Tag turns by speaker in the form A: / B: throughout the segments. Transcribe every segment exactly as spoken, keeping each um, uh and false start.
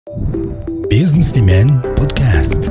A: Businessman podcast.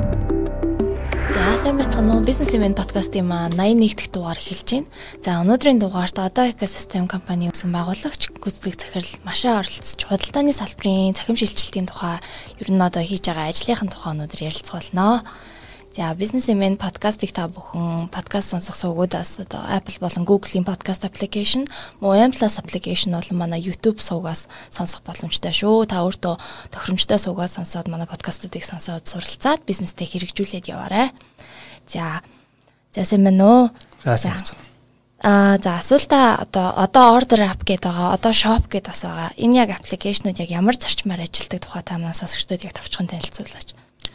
B: За сайн байцгаана уу? Businessman podcast-ийн маань найман нэг дахь дугаар эхэлж байна. За өнөөдрийн дугаарт одоо экосистем компани үүсгэн байгуулагч гүйцэтгэх захирал Машаа оролцож худалдааны салбарын цахим шилжилтийн тухай ер нь одоо хийж байгаа ажлынхын тухай өнөөдөр ярилцгаулнаа. За Businessman podcast-ийг та бүхэн подкаст сонсох сувгуудаас одоо Apple болон Google-ийн podcast application, Moem Plus application болон манай YouTube сувгаас сонсох боломжтой шүү. Та өөртөө тохиромжтой сувгаас сонсоод манай подкастуудыг сонсоод суралцаад бизнестэй хэрэгжүүлээд яваарай. За. За сайн байна уу?
C: За сайн байна.
B: Аа за асуултаа одоо одоо order app гэдэг байгаа, одоо shop гэдэг бас байгаа. Энэ яг application-ууд яг ямар зарчмаар ажилладаг тухай та манай сонсогчдод яг товчхон танилцуулаач.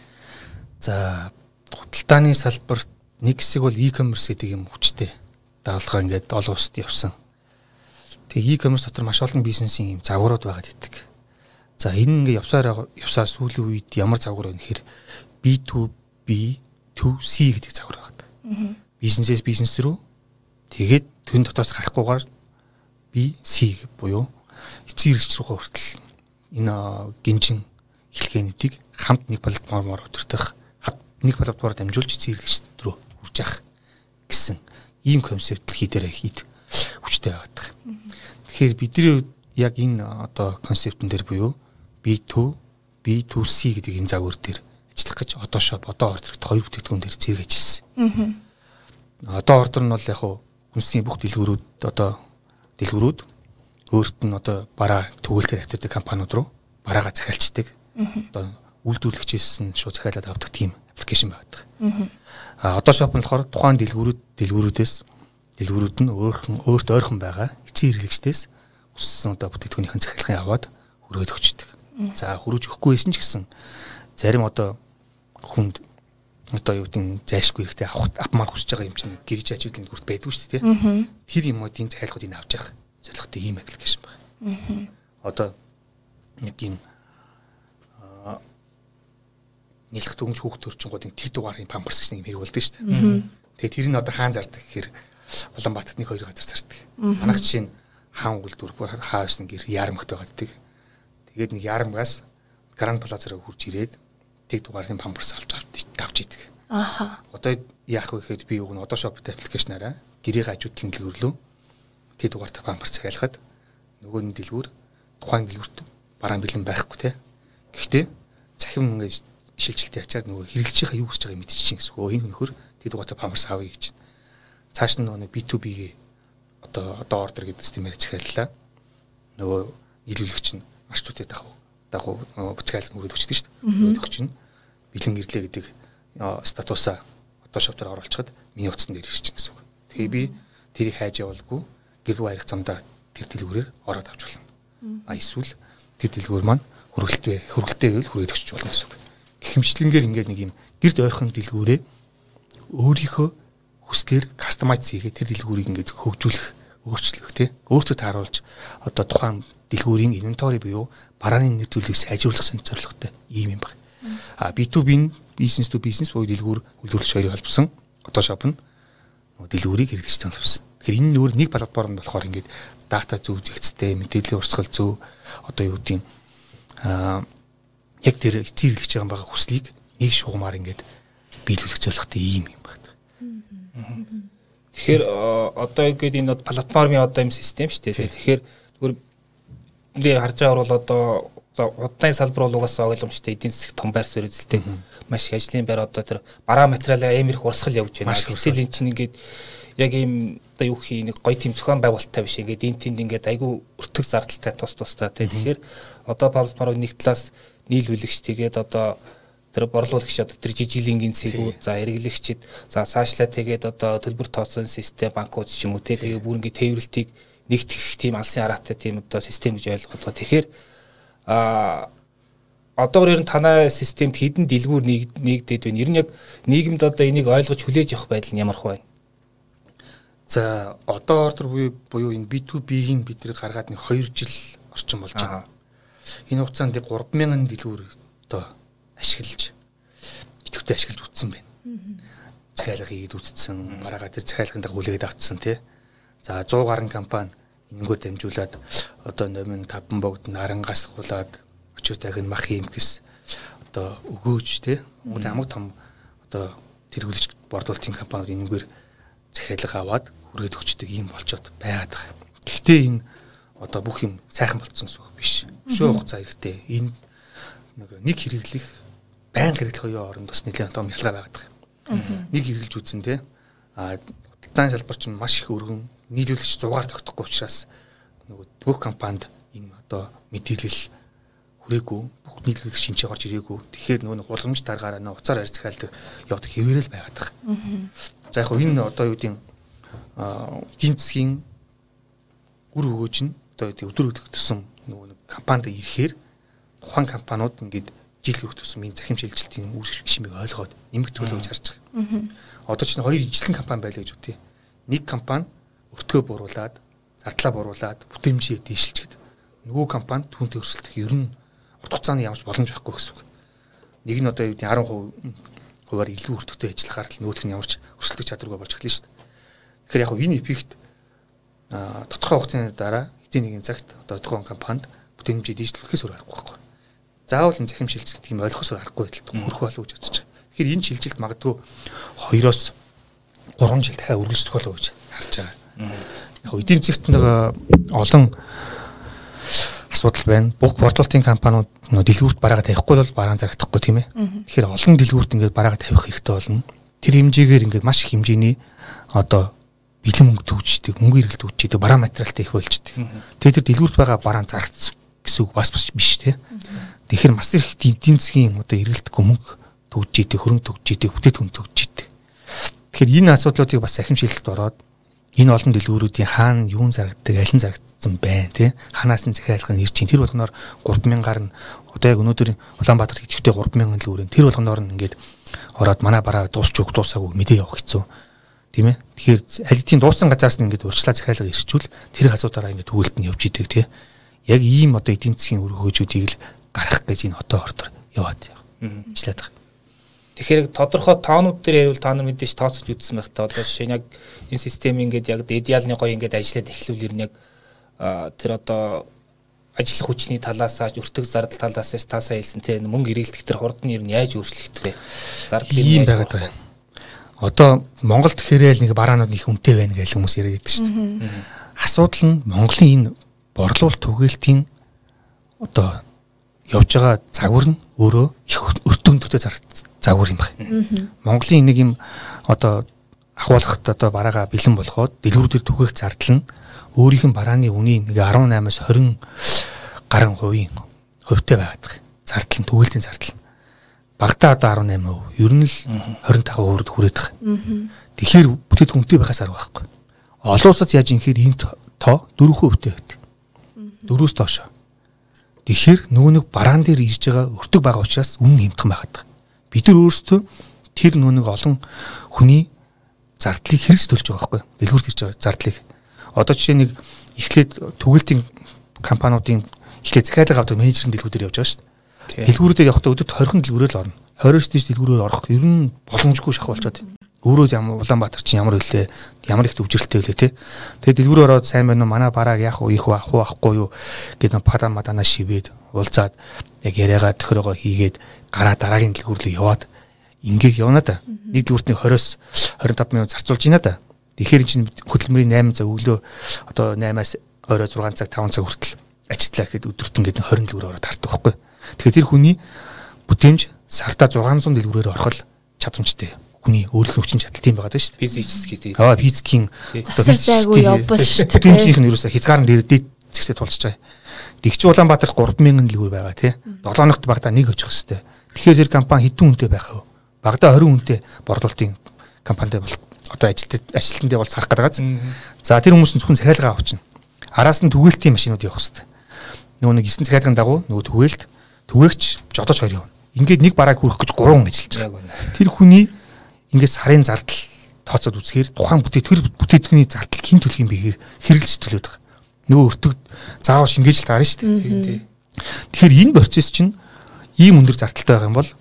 C: За худалдааны салбарт нэг хэсэг бол e-commerce гэдэг юм хүчтэй даалгавар ингээд олон улсад явсан. Тэгээ e-commerce дотор маш олон бизнесийн юм загварууд байгаад идэг. За энэ ингээд явсаар явсаар сүүлийн үед ямар загвар вэ гэхээр би ту би ту си гэдэг загвар байгаад. Бизнесээс бизнес рүү тэгээд тэн дотоос гарахгүйгээр би си буюу эцэг хэрэгч рүү хүртэл энэ гинжин хэлхээнүүдийг хамт нэг платформоор өдөртөх нэг платформоор дамжуулж эзэрлэгч рүү хүрж явах гэсэн ийм концепт хийдэрэ хийд хүчтэй байдаг. Тэгэхээр бидний яг энэ одоо концептын дээр буюу би ту би ту си гэдэг энэ загвар дээр ажиллах гэж одоо shop одоо ордерт хоёр бүтээгдэхүүн дээр зэрэг ажилласан. Одоо ордер нь бол яг хүнсний бүх дэлгүүрүүд одоо дэлгүүрүүд өөрт нь одоо бараа түгээлтээр авдаг компаниуд руу бараагаа захиалцдаг. Одоо үйлдвэрлэгчээс нь шууд захиалаад авдаг тийм аппликейшн байдаг. А одоо shop нь болохоор тухайн дэлгүүрүүд дэлгүүрүүдээс дэлгүүрүүд нь өөрхөн өөрт ойрхон байгаа эцэг хэрэглэгчдээс өссөн одоо бүтээгдэхүүнийхэн захиалгын аваад хүргээд өгчдөг. За хүрэж өгөхгүй байсан ч гэсэн зарим одоо хүнд одоо юу гэдэг зайлшгүй хэрэгтэй авах авмаар хүсэж байгаа юм чинь гэрж ажиглалын бүрт байдгүй шүү дээ. Тэр юмуудын захиалгуудыг авч явах зорилготой ийм аппликейшн байна. Одоо нэг юм нийлэх дүнж хүүхд төрчингуудын тэг дугаарын памперс гэсэн юм хэрэг болдог шүү дээ. Тэгээ тэр нь одоо хаан зардаг гэхээр Улаанбаатарт нэг хоёр газар зардаг. Манайх жишээ нь хаан үйлдвэр хаа байсан гэр ярамгт байгааддаг. Тэгээд нэг ярамгаас Гранд Плазараа хурж ирээд тэг дугаарын памперс авч авч идэг. Аха. Одоо яах вэ гэхээр би уг нь одоо shop аппликейшнаараа гэрийн хажуудлын дэлгүүрлөө тэг дугаартай памперс захиалахад нөгөө нэг дэлгүүр тухайн дэлгүүрт бараан бэлэн байхгүй те. Гэхдээ захим ингээд шилжилтийн ачаар нөгөө хэрэглэж байгаа юу гэж байгааг мэдчихээн гэсэн. Өө энэ нөхөр тэг дугаартай памперс авъя гэж. Цааш нь нөгөө би ту би-гээ одоо одоо ордер гэдэг системээр захиаллаа. Нөгөө нийлүүлэгч нь маршрутыг дагав. Дагав буцаалт нүрээд өчдөг шүү дээ. Өгч нь бэлэн ирлээ гэдэг статусаа одоо shop дээр оруулчихад миний утсан дээр ирж чинь гэсэн үг. Тэгээ би тэрийг хайж явуулгүй гэр рүү харих замдаа тэр дэлгүүрээр ороод авч болно. А эсвэл тэр дэлгүүр маань хөргөлтэй хөргөлтэй байвал хүрээд өгч болно гэсэн үг. Хэмжлэнгээр ингээд нэг юм гэрд ойрхон дэлгүүрээ өөрийнхөө хүслээр кастомайз хийгээ тэр дэлгүүрийг ингээд хөгжүүлэх, өөрчлөх тий. Өөртөө тааруулж одоо тухайн дэлгүүрийн инвентори буюу барааны нэр төлөвийг сайжруулах зорилготой ийм юм байна. А би ту би бизнес ту бизнес буюу дэлгүүр үйлдвэрлэгч хоёрыг холбосон одоо shop нь дэлгүүрийг хэрэглэгчтэй холбосон. Тэгэхээр энэ нөр нэг платформ болохоор ингээд дата зөв зэгцтэй, мэдээллийн урсгал зөв одоо юу гэдэг аа яг тэр эцэг хэрэглэж байгаа хүслийг нэг шугамаар ингээд биелүүлэх зорилготой ийм юм байна.
D: Тэгэхээр одоо ингээд энэ платформын одоо юм систем шүү дээ. Тэгэхээр зүгээр нэр харж байгаа бол одоо худалдааны салбар бол угаасаа ойлгомжтой эдийн засаг том байр суурь эзэлдэг. Маш их ажлын байр одоо тэр бараа материалаа амар их урсгал явж байна. Гэтэл эн чинь ингээд яг ийм одоо юу хий нэг гоё тийм зохион байгуулалттай биш ингээд энэ тэнд ингээд айгүй өртөг зардалтай тус тустай. Тэгэхээр одоо платформын нэг талаас нийлүүлэгч тэгээд одоо тэр борлуулагч одоо тэр жижиглингийн цэгүүд за хэрэглэгчид за цаашлаа тэгээд одоо төлбөр тооцоолын систем банкуд ч юм уу тэгээд бүр ингээд тээвэрлтийг нэгтгэх тийм алсын араатай тийм одоо систем гэж ойлгоод байгаа. Тэгэхээр а одоогор ер нь танай системд хэдэн дэлгүүр нэгдээд байна. Ер нь яг нийгэмд одоо энийг ойлгож хүлээж авах байдал нь ямар хөө байна?
C: За одоо ордер буюу энэ би ту би-ийн бид нэр гаргаад нэг хоёр жил орчим болж байна. Энэ хугацаанд гурван мянган дэлгүүр одоо ашиглаж идэвхтэй ашиглаж үтсэн байна. Захиалга хийгээд үтсэн, бараагаа тэр захиалганд хүлээгээд авцсан тий. За сто гаруй компани энэнгөө дамжуулаад одоо нөмөн таван богд нарангаас хулаад очир дахин мах юм гэс одоо өгөөж те Монголын хамаг том одоо тэргүүлэгч борлуулалтын компаниуд энэгээр захиалга аваад хүргээд өгчдөг юм болчоод байгаад байгаа. Гэхдээ энэ одоо бүх юм сайхан болцсон гэсэн үг биш. Өшөө хугацаа хэрэгтэй. Энэ нэг нэг хэрэглэх байнга хэрэглэх хоёрын хооронд бас нэлээд том ялгаа байгаад байгаа. Нэг хэрэглэж үзсэн те а худалдааны салбар чинь маш их өргөн нийлүүлэгч зугаар тогтохгүй учраас нөгөө бүх компанид энэ одоо мэдээлэл хүрээгүй бүх нийлүүлэгч шинжээ орж ирээгүй. Тэгэхээр нөгөө гуламж даргаараа нөө уцаар арь захиалдаг явдаг хэвээрэл байгаад байгаа. За яг хөө энэ одоо юу гэдэг эдийн засгийн үр өгөөж нь одоо өдөр өдөрт төсөн нөгөө нэг компанид ирэхээр тухайн компаниуд ингээд жил хүрэх төсөн энэ захим шилжилтийн үр шимийг ойлгоод нэмэгдүүлээ гэж харж байгаа. Одоо чинь хоёр ижлэн компани байлаа гэж үтэй. Нэг компани өртгөө бууруулад, зардлаа бууруулад, бүтээмжээ дээшилчихэд нөгөө компани түүнтэй өрсөлдөх ер нь урт хугацааны ямарч боломж байхгүй гэсэн үг. Нэг нь одоо юу гэдэг десять хувиар илүү өртөгтэй ажиллахаар л нөгөөх нь ямарч өрсөлдөх чадваргүй болж эхэлнэ шүү дээ. Тэгэхээр яг энэ эффект а тодорхой хугацааны дараа хэдийн нэгэн цагт одоо тухайн компанид бүтээмжээ дээшлүүлэхээс өөр аргагүй байхгүй. Заавал энэ захим шилжилт гэдэг юм ойлгохоос аргагүй байдалд хүрэх болов уу гэж бодож байгаа. Тэгэхээр энэ шилжилт магадгүй хоёроос гурван жил дахиад үргэлжлэх болов уу гэж харж байгаа. Яг эдийн засгт нэг олон асуудал байна. Бүх борлуулалтын компаниуд нөө дэлгүүрт бараагаа тавихгүй бол бараан зарагдахгүй тийм ээ. Тэгэхээр олон дэлгүүрт ингээд бараагаа тавих хэрэгтэй болно. Тэр хэмжээгээр ингээд маш их хэмжээний одоо бэлэн мөнгө төгждөг, мөнгө эргэлт төгждөг, бараа материалтай их болждөг. Тэгээд тэр дэлгүүрт байгаа бараан зарагдсан гэсэн үг бас биш тийм. Тэгэхээр маш их эдийн засгийн одоо эргэлтгүй мөнгө төгждөг, хөрөнгө төгждөг, бүтээтгүн төгждөг. Тэгэхээр энэ асуудлуудыг бас захим шилжилт ороод энэ олон дэлгүүрүүдийн хаана юун зарагддаг, аль нь зарагдсан байна тий ханаас нь захиалгах нь ирж чинь тэр болгоноор гурван мянгаар нь одоо яг өнөөдөр Улаанбаатарт идэвхтэй гурван мянган дэлгүүрийн тэр болгоноор нь ингээд ороод манай бараа дуусч өг дуусаагүй мэдээ явах хэцүү тийм ээ. Тэгэхээр аль хэдийн дууссан газраас нь ингээд урьдчилан захиалга ирчүүл тэр газруудаараа ингээд түгэлт нь явж идэг тий яг ийм одоо эдийн засгийн үр хөөжүүдийг л гаргах гэж энэ хотоо ордор яваад ичлээд байгаа.
D: Тэгэхээр тодорхой тоонууд дээр ярил та нар мэдээж тооцож үзсэн байх та одоо жишээ нь яг энэ систем ингээд яг идеалны гоё ингээд ажиллаад эхлүүл ер нь яг тэр одоо ажиллах хүчний талаасаа өртөг зардал талаасаа таасаа хэлсэн те мөнгө ирээлдэх тэр хурд нь ер нь яаж өөрчлөгдөх вэ? Зардал
C: юм байгаад байна. Одоо Монголд гэхээрээ л нэг бараанууд их үнэтэй байна гэж хүмүүс яриад байдаг шүү дээ. Асуудал нь Монголын энэ борлуулалт түгээлтийн одоо явж байгаа загвар нь өөрөө их өртөгтэй зарагдсан загвар юм байна. Монголын нэг юм одоо ахуулахад одоо бараагаа бэлэн болоход дэлгүүрүүдээр түгээх зардал нь өөрийнх нь барааны үнийн нэг десять-аас тwenty гаруй хувийн хувьтай байгаад байгаа. Зардал нь түгээлтийн зардал. Багтаа одоо eighty-eight percent ер нь л twenty-five percent хүрээд байгаа. Тэгэхээр бүтээтгүнтэй байхаас арга байхгүй. Олон улсад яаж юм хэр энэ тоо four percent байдаг. four-өөс доош. Тэгэхээр нөгөө нэг бараан дээр ирж байгаа өртөг байгаа учраас үнэн хэмтхэн байгаад байгаа. Бид нар өөрсдөө тэр нөгөө нэг олон хүний зардлыг хэрэгс төлж байгаа байхгүй. Дэлгүүрт ирж байгаа зардлыг. Одоо жишээ нэг эхлээд түгэлтийн компаниудын эхлээд захиалга авдаг менежерийн дэлгүүрээр явж байгаа шүү дээ. Дэлгүүрүүдээр явахдаа өдөрт twenty дэлгүүрээр л орно. twenty-өөс дээш дэлгүүрээр орох ер нь боломжгүй шахах болчиход. Өөрөө ямар Улаанбаатар чинь ямар хөлөө ямар их төвжирэлтэй хөлөө те. Тэгээд дэлгүүрээр ороод сайн байна уу манай барааг яах вэ их авах уу авахгүй юу гэдэг нь пада мадана шивээд уулзаад яг яриагаа төхөрөөгөө хийгээд гараа дараагийн дэлгүүр рүү яваад ингээд явна да. Нэг дэлгүүртний twenty-оос twenty-five минут зарцуулж байна да. Тэгэхээр чинь хөдөлмөрийн eight цаг өглөө одоо eight-аас орой six цаг five цаг хүртэл ажиллаа гэхэд өдөрт ингээд twenty дэлгүүр ороод тартдаг байхгүй. Тэгэхээр тэр хүний бүтээмж сартаа six hundred дэлгүүрээр орохол чадамжтай. Хүний өөрийнх нь хүчин чадал тийм байгаа даа шүү дээ.
D: Физический тийм.
C: Аа физикийн
B: засар зайгүй явбал шүү дээ.
C: Бүтээмжийнх нь ерөөсө хязгаар дээр дээд зэгсээ тулж байгаа. Тэгч Улаанбаатар three thousand дэлгүүр байгаа тий. seven ногт багада нэг очих хэвээр. Тэгэхээр тэр компани хэдэн үнэтэй байх вэ? Багада twenty үнэтэй борлуулалтын компанитай бол одоо ажилтнууд ажилтнуудаа бол царах гэдэг. За тэр хүмүүс нь зөвхөн захиалга авчихна. Араас нь түгээлтийн машинууд явах хэвээр. Нөгөө нэг нine захиалгын дагуу нөгөө түгээлт түгээгч жодож хоёр явна. Ингээд нэг барааг хүрэх гэж гурван ажиллаж байгаа. Тэр хүний ингээд сарын зардал тооцоод үзэхээр тухайн бүтээтгүүр бүтээтгүүний зардал хэн төлөх юм бэ хэрэглэж төлөөд байгаа. Нөгөө өртөг заавал шингээж л гарна шүү дээ. Тэгэхээр энэ процесс чинь ийм өндөр зардалтай байгаа юм бол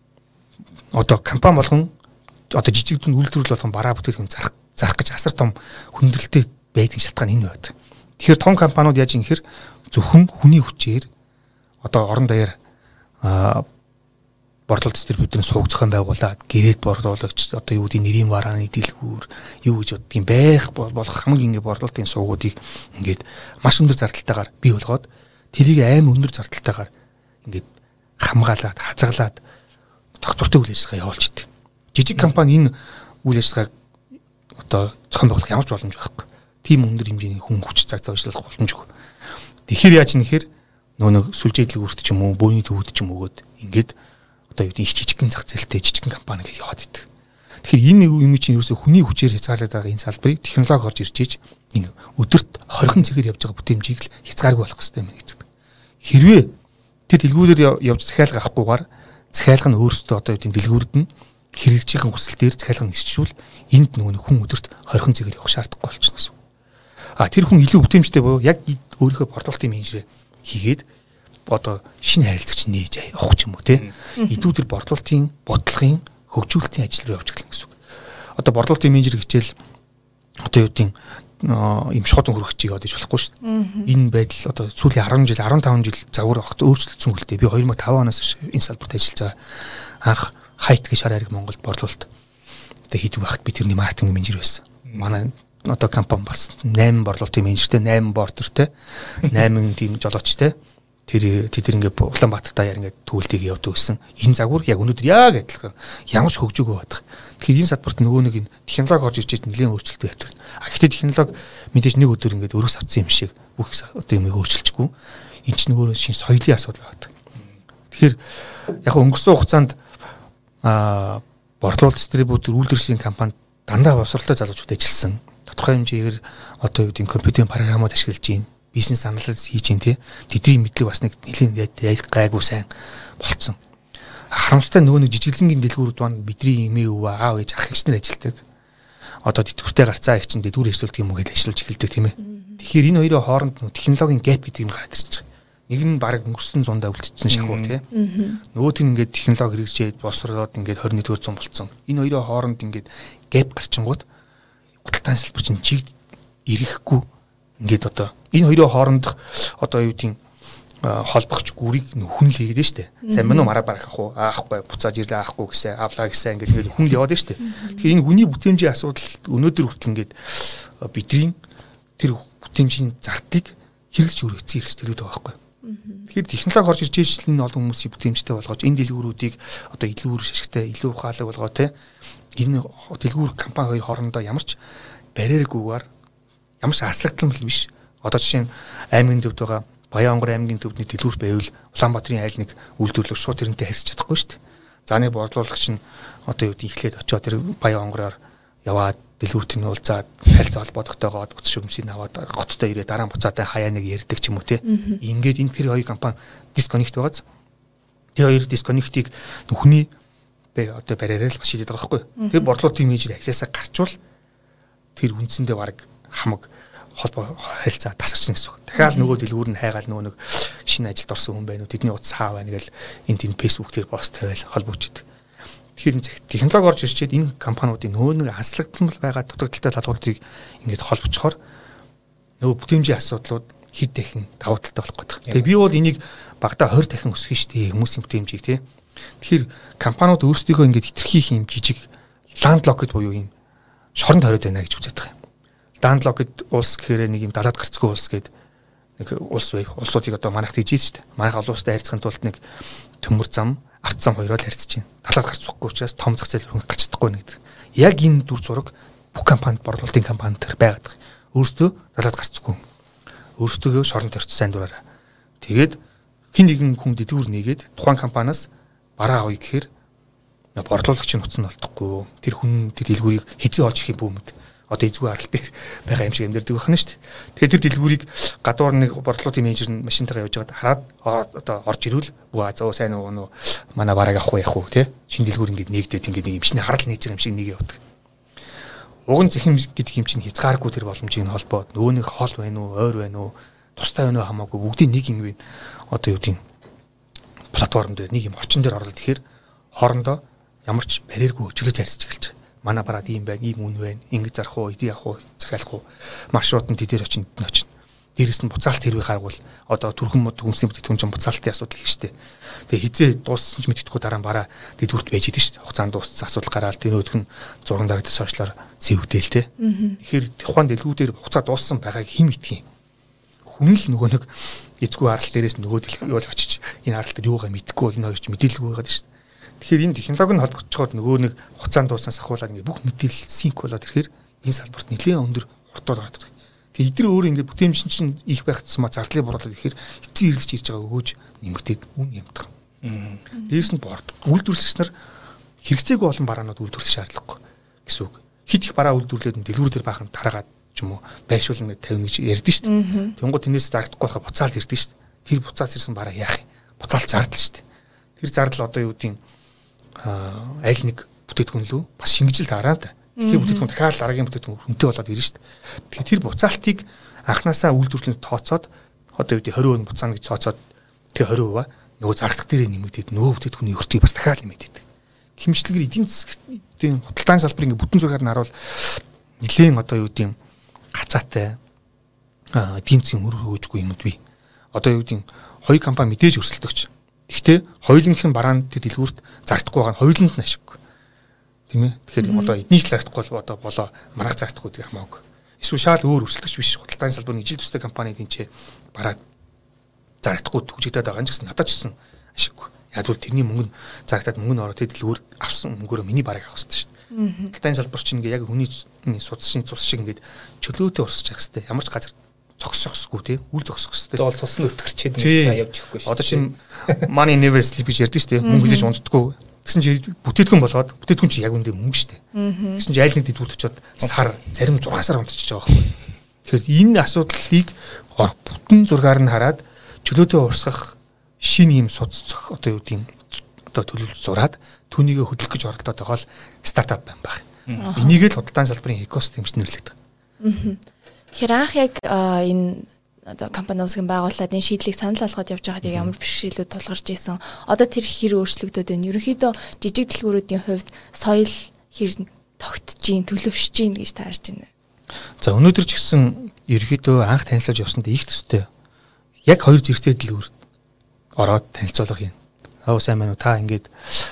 C: одоо компани болгон одоо жижиг дүн үйлдвэрлэл болгон бараа бүтээтгүүн зарах зарах гэж асар том хүндрэлтэй байдаг шалтгаан энэ байдаг. Тэгэхээр том компаниуд яаж юм гэхээр зөвхөн хүний хүчээр одоо орон даяар борлуулалт дистрибьюторын сувг зохион байгуулад гэрээд борлуулагч одоо юу гэдэг нэрийн варааны дэлгүүр юу гэж боддгийг байх болох хамгийн ингээ борлуулалтын сувгуудыг ингээд маш өндөр зардалтайгаар бий болгоод тэрийг аим өндөр зардалтайгаар ингээд хамгаалаад хазгалаад доктортой үйл ажиллагаа явуулж идэг. Жижиг компани энэ үйл ажиллагааг одоо зохион байгуулах ямар ч боломж байхгүй. Тим өндөр хэмжээний хүн хүч цаг зав ажиллах боломжгүй. Тэгэхээр яаж нэхэр нөө нэг сүлжээ дэлгүүрт ч юм уу, бөөний төвөд ч юм өгөөд ингээд одоо юу гэдэг их жижигхэн зах зээлтэй жижигхэн компани гэж яваад идэг. Тэгэхээр энэ юм чинь ерөөсө хүний хүчээр хязгаарлаад байгаа энэ салбарыг технологи орж ирж иж энэ өдөрт хорхон цэгээр явж байгаа бүтээмжийг л хязгааргүй болох хэрэгтэй юм гэдэг. Хэрвээ тэр дэлгүүрээр явж захиалга авахгүйгээр захиалга нь өөрөөсөө одоо юу гэдэг дэлгүүрд нь хэрэгжийн хүсэл дээр захиалга нь ирчүүл энд нөгөө хүн өдөрт хорхон цэгээр явах шаардлагагүй болчихно гэсэн. А тэр хүн илүү бүтээмжтэй буюу яг өөрийнхөө борлуулалтын менежерээ хийгээд одоо шинэ харилцагч нээж авах ч юм уу тий. Идүү тэр борлуулалтын бодлогын хөгжүүлэлтийн ажил руу явж гэлэн гэсэн үг. Одоо борлуулалтын менежер хичээл одоо юу гэдэг ийм шууд хөрөгчийг одоо иж болохгүй шүү дээ. Энэ байдал одоо сүүлийн арван жил арван таван жил загвар огт өөрчлөгдсөн үлдээ. Би хоёр мянга таван оноос энэ салбарт ажиллаж байгаа. Анх хайт гэж шар хариг Монголд борлуулалт одоо хийдэг багт би тэрний маркетинг менежер байсан. Манай одоо компани бас восемь борлуулалтын менежертэй, восемь бортертэй, восемь тийм жолоочтой. Тэр тэд ингээд Улаанбаатар даяар ингээд төвлөлтийг явуулдаг гэсэн. Энэ загвар яг өнөөдөр яг адилхан. Ямар ч хөгжөөгөө байдаг. Тэгэхээр энэ салбарт нөгөө нэг энэ технологи орж ирж нэлээд өөрчлөлт явдаг. А гэхдээ технологи мэдээж нэг өдөр ингээд өрөөс авцсан юм шиг бүх одоо юм өөрчилчихгүй. Энэ чинь өөрөө шинэ соёлын асуудал байдаг. Тэгэхээр яг өнгөрсөн хугацаанд аа борлуулалт дистрибьютор үйлдвэрлэлийн компанид дандаа босролтой залуучууд ажилласан. Тодорхой хэмжээгээр одоо юу гэдэг компьютерийн програмууд ашиглаж байна. Бизнес анализ хийж ин тий тэдний мэдлэг бас нэг нэлийн гайгүй сайн болцсон. Харамсалтай нөгөө нэг жижиглэнгийн дэлгүүрүүд маань бидний эмээ өвөө аав ээж ах эгч нар ажилтдаг. Одоо тэтгэвртэй гарцаа их чинь дэлгүүр эсрэлт юм уу гэж ажиллаж эхэлдэг тийм ээ. Тэгэхээр энэ хоёрын хооронд технологийн гэп гэдэг юм гараад ирж байгаа. Нэг нь баг өнгөрсөн зундаа үлдсэн шахуу тий. Нөгөөт нь ингээд технологи хэрэгжээд босроод ингээд двадцать нэгдүгээр зуун болцсон. Энэ хоёрын хооронд ингээд гэп гарчингууд худалдааны салбар чинь чиг ирэхгүй ингээд одоо энэ хоёрын хоорондох одоо юу гэдэг холбогч гүрийг хүн л хийгээд штэ. Сайн мөн мараа барах ах уу аахгүй буцааж ирлээ аахгүй гэсэн авлаа гэсэн ингээд ингээд хүн л яваад штэ. Тэгэхээр энэ хүний бүтээмжийн асуудал өнөөдөр хүртэл ингээд бидний тэр бүтээмжийн зардлыг хэрэглэж өргөцсөн хэрэгсэлтэй байгаа байхгүй. Тэгэхээр технологи орж ирж ижил энэ олон хүмүүсийн бүтээмжтэй болгож энэ дэлгүүрүүдийг одоо илүү үр ашигтай илүү ухаалаг болгоо те энэ дэлгүүр компани хоёр хоорондоо ямар ч барьергүйгээр ямар ч аслагдмал биш. Одоо жишээ нь аймгийн төвд байгаа Баянгор аймгийн төвдний дэлгүүр байвал Улаанбаатарын айл нэг үйлдвэрлэгч шууд тэрнтэй харьцаж чадахгүй шүү дээ. За нэг борлуулагч нь одоо юу гэдэг ихлээд очиод тэр Баянгороор яваад дэлгүүрт нь уулзаад харилцаа холбоотойгоо буцаж шүмсийг аваад готтой ирээ дараа нь буцаатай хаяа нэг ярьдаг ч юм уу те. Ингээд энэ тэр хоёр компани дисконнект байгааз. Тэр хоёр дисконнектийг хүний бэ одоо барьераар л шийдээд байгаа байхгүй. Тэр борлуулалтын менежер ахлаасаа гарчвал тэр үндсэндээ баг хамаг холбоо харилцаа тасарчна гэсэн үг. Дахиад нөгөө дэлгүүр нь хайгаал нөгөө нэг шинэ ажилд орсон хүн байна уу тэдний утас хаа байна гэл энд энэ фэйсбүүк дээр пост тавиал холбогдчихдаг. Тэгэхээр энэ технологи орж ирчээд энэ компаниудын нөгөө нэг анслагдмал байгаа дутагдaltaй талуудыг ингээд холбоцохоор нөгөө бүтээмжийн асуудлууд хэд дахин давуу талтай болох гэдэг. Тэгээ би бол энийг багада двадцать дахин өсгөх шүү дээ хүмүүсийн бүтээмжийг тий. Тэгэхээр компаниуд өөрсдийгөө ингээд хитрхийх юм жижиг ландлокд буюу юм шоронд хориод байна гэж үздэг юм. Ландлокд улс гэхээр нэг юм далаад гарцгүй улс гээд нэг улс бай. Улсуудыг одоо манайх тэгж ийж шүү дээ. Манайх олон улстай харьцахын тулд нэг төмөр зам арт зам хоёроо л харьцаж байна. Далаад гарцахгүй учраас том зах зээл рүү гарч чадахгүй нэг. Яг энэ дүр зураг бүх компанид борлуулалтын компанид төр байгаад. Өөртөө далаад гарцгүй. Өөртөө шоронд төрч сайн дураараа. Тэгээд хин нэгэн хүн дэдгүүр нэгээд тухайн компаниас бараа авъя гэхээр борлуулагчийн нутц нь олдохгүй. Тэр хүн тэр дэлгүүрийг хэзээ олж ирэх юм бүүмэд. Одоо эзгүй арал дээр байгаа юм шиг амьдэрдэг байна шүү дээ. Тэгээд тэр дэлгүүрийг гадуур нэг борлуулалтын менежер нь машинтайгаа явж байгаад хараад одоо орж ирвэл бүү зөө сайн уу нөө манай бараг авах яах уу те шинэ дэлгүүр ингээд нэгдээд ингээд нэг юм шинэ харал нээж байгаа юм шиг нэг явдаг. Уг нь зэхэм гэдэг юм чинь хязгааргүй тэр боломжийн холбоо нөгөө нэг хоол байна уу ойр байна уу тустай байна уу хамаагүй бүгдийн нэг юм байна. Одоо юу гэдэг платформ дээр нэг юм орчин дээр орлоо тэгэхээр хоорондоо ямар ч барьергүй хөгжлөж харьцаж эхэлж байгаа. Манай бараад ийм байна, ийм үн байна. Ингэ зарах уу, эдий явах уу, захиалах уу. Маршрут нь тэдээр очинд нь очино. дээрэс нь буцаалт хэрвээ гаргавал одоо түрхэн мод хүнсний бүтээгдэхүүн чинь буцаалтын асуудал их штэ. Тэгээ хизээ дууссан ч мэддэхгүй дараа нь бараа дэдвүрт байж идэв штэ. Хугацаанд дууссан асуудал гараад тэр өдгөн зурган дарагдсан сошиалаар зэвдээл те. Тэгэхээр тухайн дэлгүүдээр хугацаа дууссан байгааг хэн мэдэх юм? Хүн л нөгөө нэг эзгүй арал дээрээс нөгөө дэлгүүр бол очиж энэ арал дээр юугаа мэдэхгүй энэ хоёр ч мэдээлэлгүй байгаад штэ. Тэгэхээр энэ технологи нь холбогдчиход нөгөө нэг хугацаанд дууссан сахуулаад ингээ бүх мэдээлэл синк болоод ирэхээр энэ салбарт нэлээд өндөр хурдууд гараад ирдэг. Тэгээ эдгээр өөр ингээд бүтээмжийн чинь их байх тусмаа зардлыг борлуулаад ихээр эцсийн хэрэглэж ирж байгаа өгөөж нэмэгдээд үн ямдах. Дээрс нь борд үйлдвэрлэгч нар хэрэгцээгүй олон бараанууд үйлдвэрлэх шаардлагагүй гэсэн үг. Хит их бараа үйлдвэрлээд дэлгүүр дээр баахан тараагаад ч юм уу байршуулна гэж тавина гэж ярьдэн шүү дээ. Тэнгууд тэрнээс зарагдахгүй байхад буцаалт ирдэн шүү дээ. Тэр буцаалт ирсэн бараа яах юм? Буцаалт зардал шүү дээ. Тэр зардал одоо юу гэдгийг аль нэг бүтээтгүн лөө бас шингэжил дараа та. Тэгэхээр бүтээтгүн дахиад дараагийн бүтээтгүн хүнтэй болоод ирнэ шүү дээ. Тэгэхээр тэр буцаалтыг анханасаа үйлдвэрлэлд тооцоод одоо юу гэдэг тwenty percent буцаана гэж тооцоод тэр twenty percent нөгөө зардал дээрээ нэмэгдээд нөгөө бүтээтгүний өртгийг бас дахиад нэмэгдээд. Хэмжлэгээр эдийн засгийн худалдааны салбарын ингээ бүтэн зургаар нь харуул нэлээд одоо юу гэдэг гацаатай эдийн засгийн өр хөөжгүй юмуд бий. Одоо юу гэдэг хоёр компани мэдээж өрсөлдөгч. Гэхдээ хоёулынх нь бараанд дэлгүүрт зардахгүй байгаа нь хоёуланд нь ашиггүй. Тийм ээ. Тэгэхээр одоо эднийх зардахгүй бол одоо болоо маргааш зардахгүй гэдэг хамаагүй. Эсвэл шал өөр өрсөлдөгч биш худалдааны салбарын ижил төстэй компанийн ч бараад зардахгүй түгжигдээд байгаа нь ч гэсэн надад ч гэсэн ашиггүй. Яг бол тэрний мөнгө нь зарагдаад мөнгө нь ороод дэлгүүр авсан мөнгөөрөө миний бараг авах хэрэгтэй шүү дээ. Худалдааны салбар чинь ингээ яг хүний судасны цус шиг ингээд чөлөөтэй урсаж явах хэрэгтэй. Ямар ч газар зогсохсгүй тий үл зогсох хэрэгтэй.
D: Бол цус нь өтгөрчээд нэг явж өгөхгүй шүү.
C: Одоо чинь money never sleep гэж ярьдэн шүү дээ. Мөнгө хийж унтдаггүй. Тэгсэн чинь бүтээтгүн болоод бүтээтгүн чинь яг үндэ мөнгө шүү дээ. Тэгсэн чинь айл нэг дэдвүрт очиод сар зарим six сар унтчихж байгаа байхгүй. Тэгэхээр энэ асуудлыг бүтэн зургаар нь хараад чөлөөтэй урсгах шинэ юм судалцах одоо юу гэдэг одоо төлөвлөлт зураад түүнийг хөдөлгөх гэж оролдоод байгаа л стартап байна баг. Энийг л худалдааны салбарын экосистем гэж нэрлэдэг.
B: Тэгэхээр анх яг энэ одоо компани усгийн байгууллагад энэ шийдлийг санал болгоод явж байгаад ямар бэрхшээлүүд тулгарч ийсэн. Одоо тэр хэр өөрчлөгдөд байна. Ерөнхийдөө жижиг дэлгүүрүүдийн хувьд соёл хэр тогтж гин, төлөвшөж гин гэж таарч байна.
C: За өнөөдөр ч гэсэн ерөнхийдөө анх танилцуулж явсанд их төстэй. Яг хоёр зэрэгтэй дэлгүүр ороод танилцуулга юм. Аа сайн байна уу та ингээд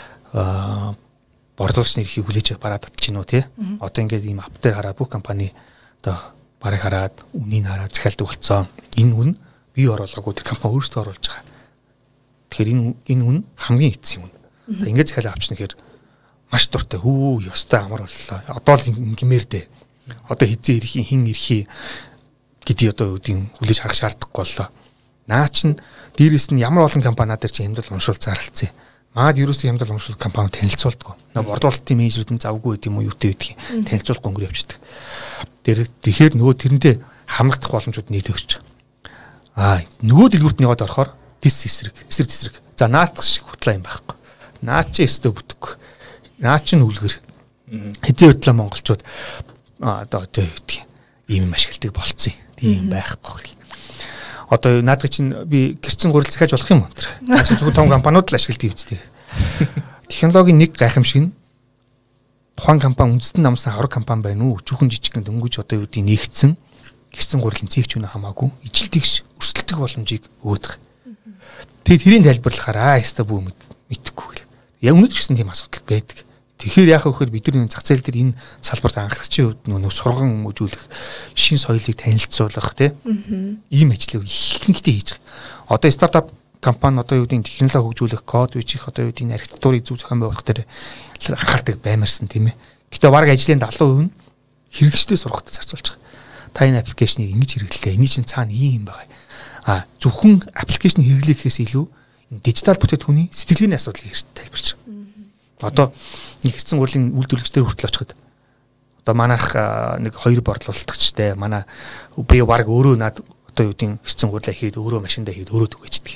C: аа борлуулагчны эрхийг хүлээж бараад татчих нь уу тий. Одоо ингээд ийм ап дээр хараа бүх компани одоо барыг хараад үнийг хараад захиалдаг болцсон. Энэ үн бий оруулаагүй тэр компани өөрсдөө оруулж байгаа. Тэгэхээр энэ энэ үн хамгийн эцсийн үн. Ингээд захиалаа авчихна гэхээр маш дуртай. Хүү ёстой амар боллоо. Одоо л ингэмээр дээ. Одоо хизээ ирэхийн хин ирэхий гэдгийг одоо үүдийн хүлээж харах шаардлагагүй боллоо. Наа чин дээрээс нь ямар олон компани надад чи хямдал уншуул зарлцсан. Маад ерөөсөө хямдал уншуул компани танилцуулдаггүй. Нөө борлуулалтын менежерүүд нь завгүй гэдэг юм уу юутэй гэдгийг танилцуулах өнгөр явчихдаг. Тэр тэгэхээр нөгөө тэрэндээ хамрагдах боломжууд нийлээ өгч байгаа. Аа нөгөө дэлгүүрт нэгээд орохоор дис эсрэг, эсрэг эсрэг. За наацх шиг хутлаа юм байхгүй. Наа чи өстө бүтэхгүй. Наа чи үлгэр. Хизээ хөтлөө монголчууд аа одоо одоо юу гэдгийг ийм юм ашигладаг болцсон. Тийм байхгүй гэл. Одоо наадах чинь би гэрчин гурил захиаж болох юм уу? Наа чи зөвхөн том компаниуд л ашигладаг үстэй. Технологийн нэг гайхамшиг нь тухайн компани үндэстэн намсан авраг компани байна уу? Өчүүхэн жижигхэн дөнгөж одоо юу гэдгийг нэгдсэн гэрчин гурилын цэгч үнэ хамаагүй ижлдэгш өрсөлдөх боломжийг өгöd. Тэгээд тэрийн тайлбарлахаар аа яста бүү мэдэхгүй гэл. Яг үнэт ч гэсэн тийм асуудал байдаг. Тэгэхээр яах вэ гэхээр бид нар зах зээл дээр энэ салбарт анхлагчийн хувьд нөө сурган хүмүүжүүлэх, шин соёлыг танилцуулах тийм ийм ажлыг ихэнхдээ хийж байгаа. Одоо стартап компани одоо юу гэдэг технологи хөгжүүлэх, код бичих, одоо юу гэдэг архитектурыг зөв зохион байгуулах дээр анхаардаг баймарсан тийм ээ. Гэтэ бараг ажлын seventy percent нь хэрэглэгчдээ сургахад зарцуулж байгаа. Та энэ аппликейшнийг ингэж хэрэглэе. Эний чинь цаана ийм юм байгаа. А зөвхөн аппликейшн хэрэглэхээс илүү энэ дижитал бүтээтгүүний сэтгэлгээний асуудлыг хэрэг тайлбарч байгаа. Одоо нэг хэсэг гурилын үйлдвэрлэгчдэр хүртэл очиход одоо манайх нэг хоёр борлуулалтчтай манай би баг өөрөө над одоо юу гэдэг хэсэг гурилаа хийгээд өөрөө машиндаа хийгээд өөрөө түгээчдэг.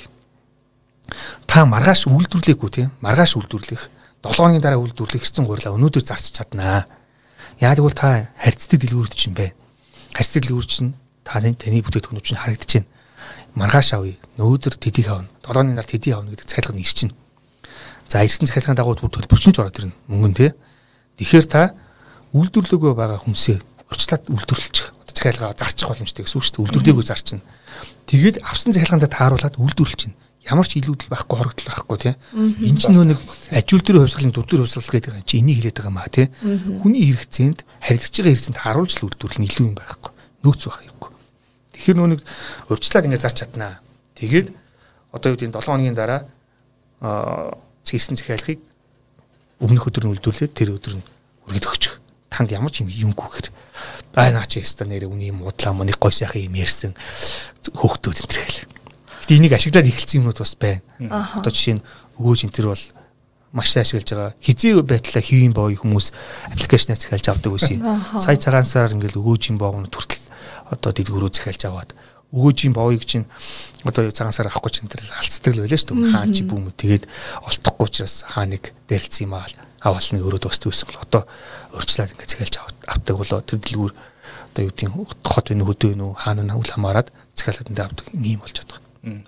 C: Та маргааш үйлдвэрлэхгүй тийм маргааш үйлдвэрлэх seven хоногийн дараа үйлдвэрлэх хэсэг гурилаа өнөөдөр зарч чаднаа. Яг тэгвэл та харьцдаг дэлгүүрүүд чинь байна. Харьцдаг дэлгүүр чинь таны таны бүтээтгүүнүүд чинь харагдаж байна. Маргааш авъя. Өнөөдөр тэдийг авна. seven хоногийн дараа тэдийг авна гэдэг захиалга нь ирчин. За ирсэн захиалгын дагуу төлбөрчин ч ороод ирнэ мөнгөн тий. Тэгэхээр та үйлдвэрлэгөө байгаа хүнсээ урьдчилаад үйлдвэрлэж захиалгаа зарчих боломжтой гэсэн үг шүү дээ. Үйлдвэрлэлийгөө зарчна. Тэгээд авсан захиалгаанд тааруулаад үйлдвэрлэж чинь ямар ч илүүдэл байхгүй, хорогдол байхгүй тийм. Энэ ч нөө нэг ажил дээр хувьсгалын дур дээр хувьсгал гэдэг юм чи энийг хэлээд байгаа маа тийм. Хүний хэрэгцээнд харилцаж байгаа хэрэгцээнд тааруулж л үйлдвэрлэл нь илүү юм байхгүй. Нөөц байх юмгүй. Тэгэхээр нөө нэг урьдчилаад ингээд зарч чаднаа. Тэгээд одоо юу гэдэг нь долоон хоногийн дараа аа цэссэн захиалгыг өмнөх өдөр нь үйлдвэрлээд тэр өдөр нь үргэлж өгчих. Танд ямар ч юм юмгүй гэхээр бай наа чи өстө нэрээ үний юм удлаа мөн нэг гой сайхан юм ярьсан хөөхтүүд энэ төр гэл. Гэтэ энийг ашиглаад эхэлсэн юмнууд бас байна. Одоо жишээ нь өгөөж энэ төр бол маш сайн ашиглаж байгаа. Хизээ байтлаа хэвийн боо хүмүүс аппликейшнаас захиалж авдаг байсан. Сая цагаан сараар ингээл өгөөжийн боогнууд хүртэл одоо дэлгүүрөө захиалж аваад өгөөжийн боовыг чинь одоо цагаан сар авахгүй чинь тэр алцдаг л байлаа шүү дээ. Хаан чи бүүмүү тэгээд олдохгүй учраас хаа нэг дэрэлцсэн юм аа авалныг өрөөд босд байсан бол одоо урьдчилаад ингээд захиалж авдаг болоо тэр дэлгүүр одоо юу гэдэг хот вэ хөдөө вэ хаана нь үл хамааран захиалаад энэ авдаг юм болж байгаа.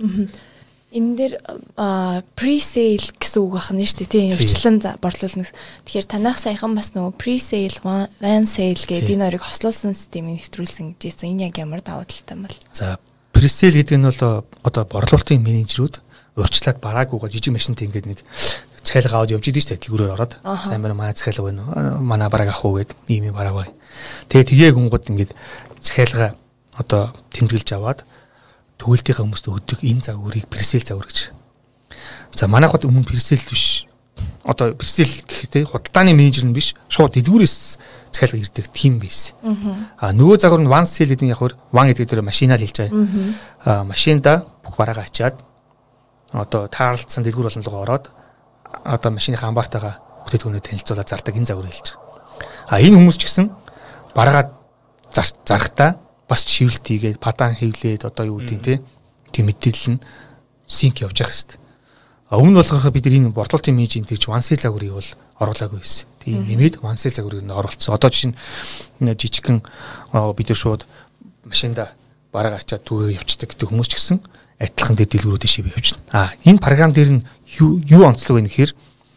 B: Энэ дээр pre-sale гэсэн үг байна шүү дээ тийм урьдчилан борлуулна. Тэгэхээр танах саяхан бас нөгөө pre-sale, van sale гэдэг энэ хоёрыг хослуулсан системийг нэвтрүүлсэн гэжсэн. Энэ яг ямар давуу талтай юм бол?
C: За pre-sale гэдэг нь бол одоо борлуулалтын менежерүүд урьдчилаад бараагүйгаа жижиг машинтай ингээд нэг захиалга аваад явж идэв шүү дээ дэлгүүрээр ороод. Сайн байна манай захиалга байна уу? Манай бараг авах уу гэд ийм юм бараа бай. Тэгээ тгээ гүнгод ингээд захиалга одоо тэмдэглэж аваад төгөлтийнхаа хүмүүст өгдөг энэ загварыг пресэл загвар гэж. За манайхад өмнө пресэл биш. Одоо пресэл гэхдээ худалдааны менежер нь биш, шууд дэлгүүрээс захиалга ирдэг тим байсан. Аа нөгөө загвар нь one sale гэдэг нь яг хөр one гэдэг дээр машинаар хэлж байгаа. Аа машинда бүх бараагаа ачаад одоо таарлцсан дэлгүүр болон руу ороод одоо машиныхаа амбартайгаа бүтээтгүүнээ танилцуулаад зардаг энэ загвар хэлж байгаа. Аа энэ хүмүүс ч гэсэн бараагаа зарахтаа бас шивэлт хийгээд падан хевлээд одоо юу гэдэг те тийм мэдээлэл нь синк явж байгаа хэвээр. А өмнө болохоор бид энэ борлуулалтын менежмент гэж one sale загварыг бол оруулаагүй байсан. Тийм нэмээд one sale загварыг нь оруулсан. Одоо жишээ нь жижигхэн бид нар шууд машинда бараа ачаад түгээ явцдаг гэдэг хүмүүс ч гэсэн адилхан дээр дэлгүүрүүдээ шивээ явчихна. А энэ програм дээр нь юу юу онцлог вэ гэхээр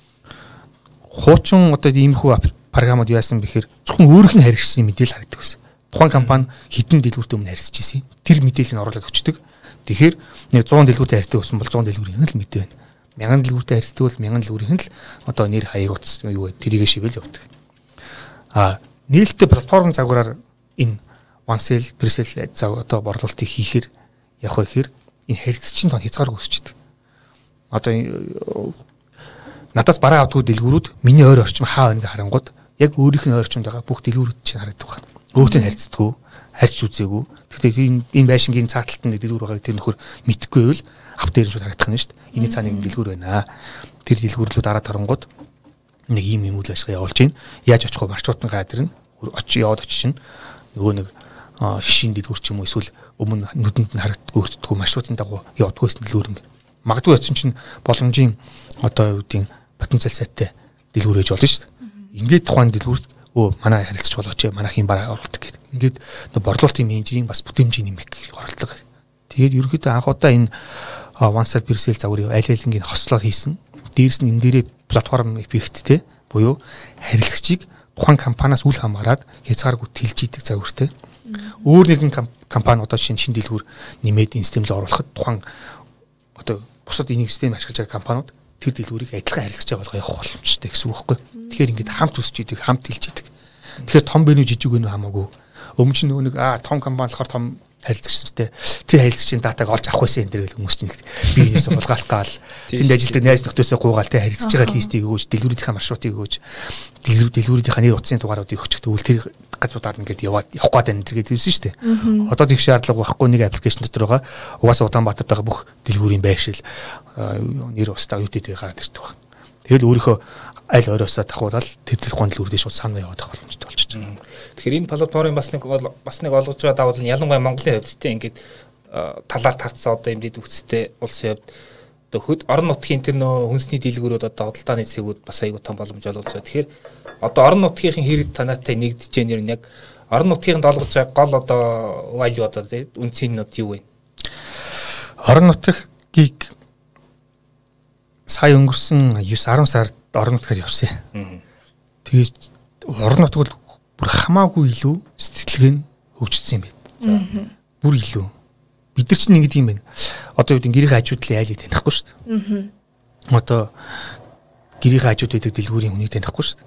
C: хуучин одоо иймэрхүү програмууд яасан бэхээр зөвхөн өөрийнх нь харьцсан мэдээлэл харагддаг байсан. Тухайн компани хэдэн дэлгүүртэй өмнө харьцаж ирсэн. Тэр мэдээллийг оруулаад өчтдөг. Тэгэхээр нэг one hundred дэлгүүртэй харьцдаг болсон бол one hundred дэлгүүрийн л мэдээ байна. one thousand дэлгүүртэй харьцдаг бол one thousand дэлгүүрийн л одоо нэр хаяг утас юу вэ? Тэрийг шивэл явдаг. А нийлдэлтэй платформ загвараар энэ one sale, pre-sale зав одоо борлуулалтыг хийхээр явах вэ гэхээр энэ харьцагчийн тоо хязгаар үүсчихдээ. Одоо надаас бараа авдаг дэлгүүрүүд миний ойр орчим хаа байныг харангууд яг өөрийнх нь ойрчимд байгаа бүх дэлгүүрүүд чинь харагддаг байна. Өөртөө харьцдаггүй, харьц үзээгүй. Тэгэхээр энэ энэ байшингийн цааталт нь дэлгүүр байгааг тэр нөхөр мэдхгүй байвал авт дээр нь шууд харагдах нь шүү дээ. Энэ цааны дэлгүүр байна. Тэр дэлгүүрлүүд дараа тарангууд нэг ийм юм үйл ажиллагаа явуулж байна. Яаж очих вэ? Маршрутын газар нь очиж яваад очиж чинь нөгөө нэг шишин дэлгүүр ч юм уу эсвэл өмнө нүдэнд нь харагддаггүй өртдөггүй маршрутын дагуу явдгүйс дэлгүүр юм. Магадгүй очиж чинь боломжийн одоо юу гэдэг потенциал сайтай дэлгүүр ээж болно шүү дээ. Ингээд тухайн дэлгүүрт өө манай харилцаж болооч манайх юм бараа оруулдаг гэдэг. Ингээд нөө борлуулалтын менежерийн бас бүтээмжийн нэмэх оролдлого. Тэгээд ерөнхийдөө анх удаа энэ one sale pre-sale загварыг аль алингийн хослоор хийсэн. Дээрс нь энэ дээрээ платформ эффекттэй буюу харилцагчийг тухайн компаниас үл хамааран хязгааргүй тэлж идэг загвартай. Өөр нэгэн компани одоо шинэ шинэ дэлгүүр нэмээд энэ системд оруулахад тухайн одоо бусад энийг систем ашиглаж байгаа компаниуд тэр дэлгүүрийг адилхан харилцаж байгаа болгоо явах боломжтой гэсэн үг байхгүй. Тэгэхээр ингээд хамт өсч идэг, хамт хэлж идэг. Тэгэхээр том бэ нү жижиг вэ нү хамаагүй. Өмнө чинь нөгөө нэг аа том компани болохоор том харилцагчтай тэр харилцагчийн датаг олж авах байсан энэ төр гэл хүмүүс чинь би энэсээ хулгайлах гал тэнд ажилтдаг найз нөхдөсөө гуугаал тэ харилцаж байгаа листийг өгөөж дэлгүүрийнхээ маршрутыг өгөөж дэлгүүр дэлгүүрийнхээ нэр утасны дугааруудыг өгч тэгвэл тэр газруудаар ингээд яваад явах гээд энэ төр гэдэг хэлсэн шүү дээ. Одоо тийх шаардлага байхгүй нэг аппликейшн дотор байгаа угаасаа Улаанбаатарт байгаа бүх дэлгүүрийн байршил нэр устаа юу гэдэг гараад ирдэг байна. Тэгэл өөрийнхөө аль ороосоо давхуулаад тэр телефон дэлгүүрдээ шууд санаа яваад байгаа боломжтой болчихж байна.
D: Тэгэхээр энэ платформын бас нэг бас нэг олгож байгаа давуу тал нь ялангуяа Монголын хувьд тийм ингээд талаар тарцсан одоо юм дэд үгцтэй улсын хувьд одоо хөд орон нутгийн тэр нөө хүнсний дэлгүүрүүд одоо худалдааны цэгүүд бас аягүй том боломж олгож байгаа. Тэгэхээр одоо орон нутгийн хэрэг танаатай нэгдэж байгаа нэр нь яг орон нутгийн олгож байгаа гол одоо value одоо тийм үнцийн нот юу вэ?
C: Орон нутгийг сая өнгөрсөн nine ten сард орон нутгаар явсан. Тэгээд орон нутг бол бүр хамаагүй илүү сэтгэлгээ нь хөгжсөн юм байна. Бүр илүү. Бид нар чинь ингэдэг юм байна. Одоо үүдийн гэрийн хажуудлын айлыг танихгүй шүү дээ. Аа. Одоо гэрийн хажууд байдаг дэлгүүрийн хүнийг танихгүй шүү дээ.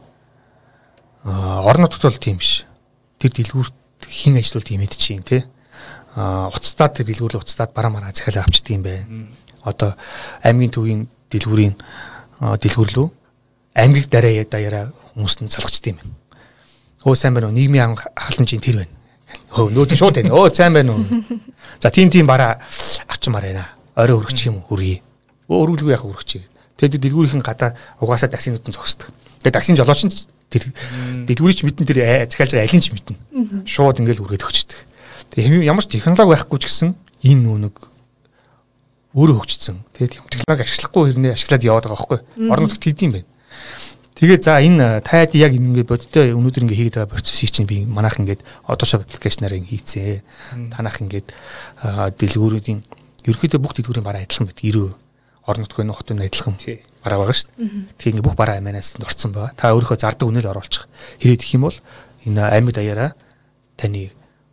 C: Аа, орон нутгад бол тийм биш. Тэр дэлгүүрт хэн ажиллаулт юм мэдчихээн тий. Аа, уцтаад тэр дэлгүүр л уцтаад бараа мараа захиалаа авчдаг юм байна. Одоо аймгийн төвийн дэлгүүрийн дэлгүүрлөө аймгийг дараа даяараа хүмүүст нь залгачдаг юм байна. Өө сайн байна уу? Нийгмийн халамжийн тэр байна. Хөө нөөдөө шууд байна. Өө сайн байна уу? За тийм тийм бараа авчмаар байна. Орой өргөчих юм уу? Хүргий. Өө өргөлгүй яхаа өргөчих. Тэгээд дэлгүүрийнхэн гадаа угаасаа таксинууд нь зогсдог. Тэгээд таксин жолооч нь тэр дэлгүүрийн ч мэдэн тэр захиалж байгаа алин ч мэднэ. Шууд ингээл үргээд өгчдөг. Тэгээд ямар ч технологи байхгүй ч гэсэн энэ нүг өөрөө хөгжсөн. Тэгээд юм технологи ашиглахгүй хэрнээ ашиглаад яваад байгаа байхгүй. Орон нутгад хийдэм байх. Тэгээ за энэ таад яг ингээд бодтой өнөөдөр ингээд хийгээд байгаа процессыг чинь би манайх ингээд Photoshop аппликейшнаар хийцээ. Танах ингээд дэлгүүрүүдийн ерөөхдөө бүх дэлгүүрийн бараа адилхан байдаг. ирээ орон нутгийн хотын адилхан бараа байгаа шүү дээ. Тэгээ ингээд бүх бараа амианаас орцсон байгаа. Та өөрийнхөө зардаг үнэл оруулчих. Хэрэг гэх юм бол энэ амьд даяараа таны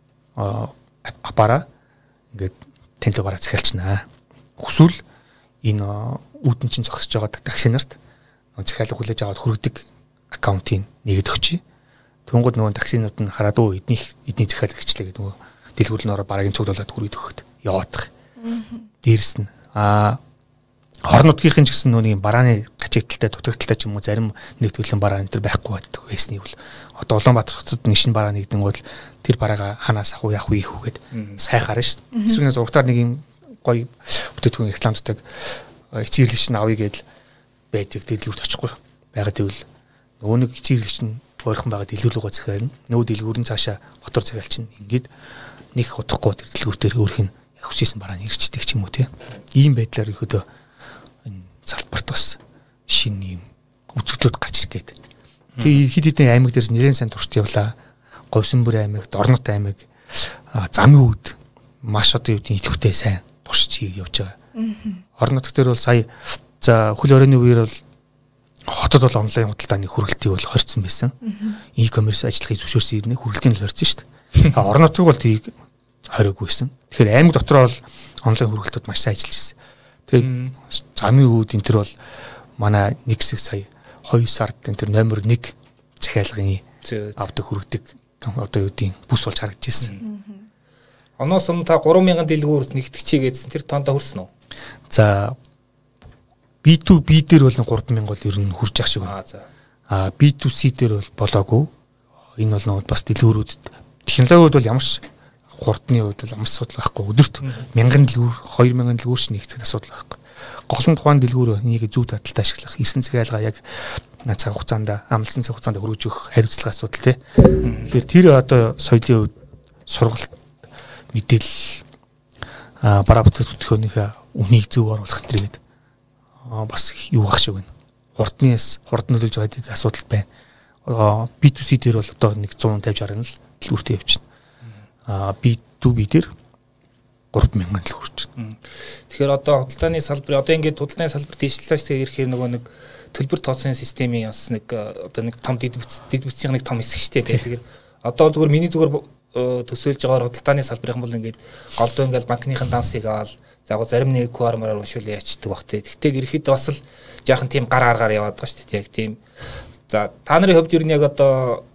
C: аппараа ингээд тэнцээ бараа захиалчнаа. Хүсвэл энэ үүдэн чинь зогсож байгаа таксинарт захиалга хүлээж аваад хүргэдэг аккаунтыг нэгэд өгчий. Түнгод нөгөө таксинууд нь хараад өө эдний эдний захиалга гिचлээ гэдэг нөгөө дэлгүүрнөөрөө бараагийн цуглуулад хүргэдэг өгөхөд яваадах. Дээрс нь аа орон нутгийнхэн ч гэсэн нөгөө барааны гачигдaltaй дутагдaltaй ч юм уу зарим нэг төрлийн бараа энэ төр байхгүй байдаг байсныг бол одоо Улаанбаатар хотод нэг шинэ бараа нэгдэн бол тэр бараага ханаас ах уу яах вэ их үгээд сайхаар шүү дээ. Эсвэл зургатаар нэг юм гоё бүтээтгүүн рекламддаг эцэрлэгч нь авъя гэдэл байдаг дэлгүүрт очихгүй байгаад ивэл нөгөө нэг эцэрлэгч нь ойрхон байгаа дэлгүүр рүү захиална. Нөгөө дэлгүүрийн цаашаа хотор захиалчин ингээд нэг удахгүй тэр дэлгүүртээр өөрх нь яг хүссэн бараа нь ирчдэг ч юм уу те. Ийм байдлаар ихэдөө энэ салбарт бас шинэ юм үзэгдлүүд гарч ирэх гээд. Тэгээ хэд хэдэн аймаг дээр нэлээд сайн туршид явлаа. Говьсонбөр аймаг, Дорнот аймаг, Замын үүд маш одоо юу гэдэг идэвхтэй сайн туршиж явж байгаа. Орон нутг дээр бол сая за хөл оройны үеэр бол хотод бол онлайн худалдааны хүргэлтийг бол хорьцсон байсан. E-commerce ажиллахыг зөвшөөрсөн ирнэ хүргэлтийг л хорьцсон шүү дээ. Орон нутгийг бол тийг хориггүйсэн. Тэгэхээр аймаг дотор бол онлайн хүргэлтүүд маш сайн ажиллаж ирсэн. Тэгээд замын үүд энэ төр бол манай нэг хэсэг сая хоёр сард энэ төр номер нэг захиалгын авдаг хүргэдэг одоо юу гэдэг бүс болж харагдаж ирсэн.
D: Оноос өмнө та гурван мянган дэлгүүрт нэгтгэж гэсэн тэр тоондоо хүрсэн үү?
C: За би ту би дээр бол гурван мянга бол ер нь хүрч ах шиг байна. Аа би ту си дээр бол болоогүй. Энэ бол нэг бас дэлгүүрүүдэд технологиуд бол ямар ч хурдны хувьд бол амс асуудал байхгүй. Өдөрт мянган дэлгүүр, хоёр мянган дэлгүүр шиг нэгтгэх асуудал байхгүй. Гол нь тухайн дэлгүүр энийг зөв таталтай ашиглах, эсэн захиалга яг цаг хугацаанд амлсан цаг хугацаанд хөргөж өгөх хариуцлага асуудал тий. Тэгэхээр тэр одоо соёлын хувьд сургалт мэдээлэл а бараа бүтээгдэхүүнийхээ үнийг зөв оруулах гэдэг бас юу гах шиг байна. Хурднаас хурд нөлөөлж байгаа гэдэг асуудал байна. би ту си дээр бол одоо нэг one fifty sixty л дэлгүүртээ явчихна. А би ту би дээр гурван мянган л хүрч байна.
D: Тэгэхээр одоо худалдааны салбар одоо ингээд худалдааны салбар дижитализацтэй ирэхээр нөгөө нэг төлбөр тооцооны системийн бас нэг одоо нэг том дэд бүтцийн нэг том хэсэг шүү дээ. Тэгэхээр одоо зүгээр миний зүгээр төсөөлж байгаагаар худалдааны салбарын бол ингээд голдоо ингээд банкныхын дансыг аваад заагу зарим нэг ку ар-маар уншуулъя ячдаг бах те. Тэгтэл ерөөхдөө бас л жаахан тийм гар аргаар яваад байгаа шүү дээ. Яг тийм. За та нарын хувьд ер нь яг одоо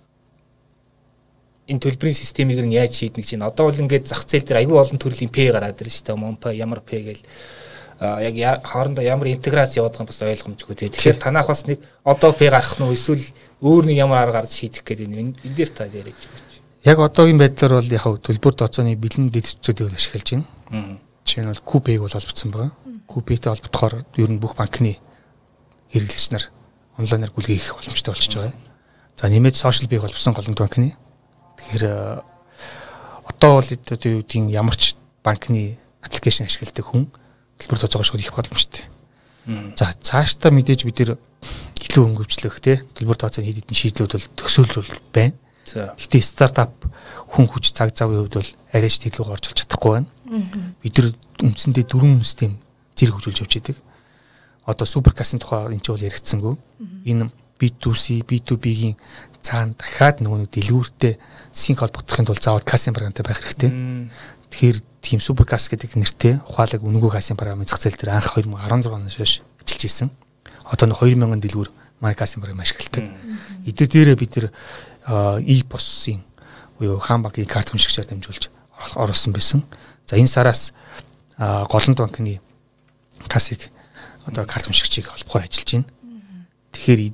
D: энэ төлбөрийн системийг нь яаж шийднэ гэж байна. Одоо бол ингээд зах зээл дээр аюул олон төрлийн пэ гараад ирж шүү дээ. Монпэ, ямар пэ гэл яг хоорондоо ямар интеграц яваад байгаа юм бас ойлгомжгүй те. Тэгэхээр танах бас нэг одоо пэ гарах нь уу эсвэл өөр нэг ямар арга гарч шийдэх гэдэг энэ энэ дээр та яриад байна.
C: Яг одоогийн байдлаар бол яг төлбөр тооцооны бэлэн дэд бүтцүүдийг ашиглаж байна. Жишээ нь бол Купэйг бол холбогдсон байгаа. Купэйтэй холбогдохоор ер нь бүх банкны хэрэглэгч нар онлайнаар гүйлгээ хийх боломжтой болчихж байгаа. За нэмээд сошиал бийг холбосон голомт банкны. Тэгэхээр одоо бол одоо юу гэдгийг ямар ч банкны аппликейшн ашигладаг хүн төлбөр тооцоогоо шууд их боломжтой. За цаашдаа мэдээж бид нэр илүү хөнгөвчлөх те төлбөр тооцооны хэд хэдэн шийдлүүд бол төсөөлж бол байна. Гэхдээ стартап хүн хүч цаг завын хувьд бол арайч тэглүүг орж олж чадахгүй байна. Бид нар үндсэндээ дөрвөн систем зэрэг хөгжүүлж явж байдаг. Одоо суперкасын тухай энэ ч бол яригдсангүй. Энэ би ту си, би ту би-гийн цаана дахиад нөгөө нэг дэлгүүртэй синк холбогдохын тулд заавал касын програмтай байх хэрэгтэй. Тэгэхээр тийм суперкас гэдэг нэртэй ухаалаг үнэгүй касын програмын зах зээл дээр анх two thousand sixteen оноос хойш ажиллаж ирсэн. Одоо нэг two thousand дэлгүүр манай касын програм ашигладаг. Эдгээр дээрээ бид нэр e-пос-ын буюу хаан банкны карт хүншигчээр дамжуулж оруулсан байсан. За энэ сараас голланд банкны касыг одоо карт хүншигчийг холбохоор ажиллаж байна. Тэгэхээр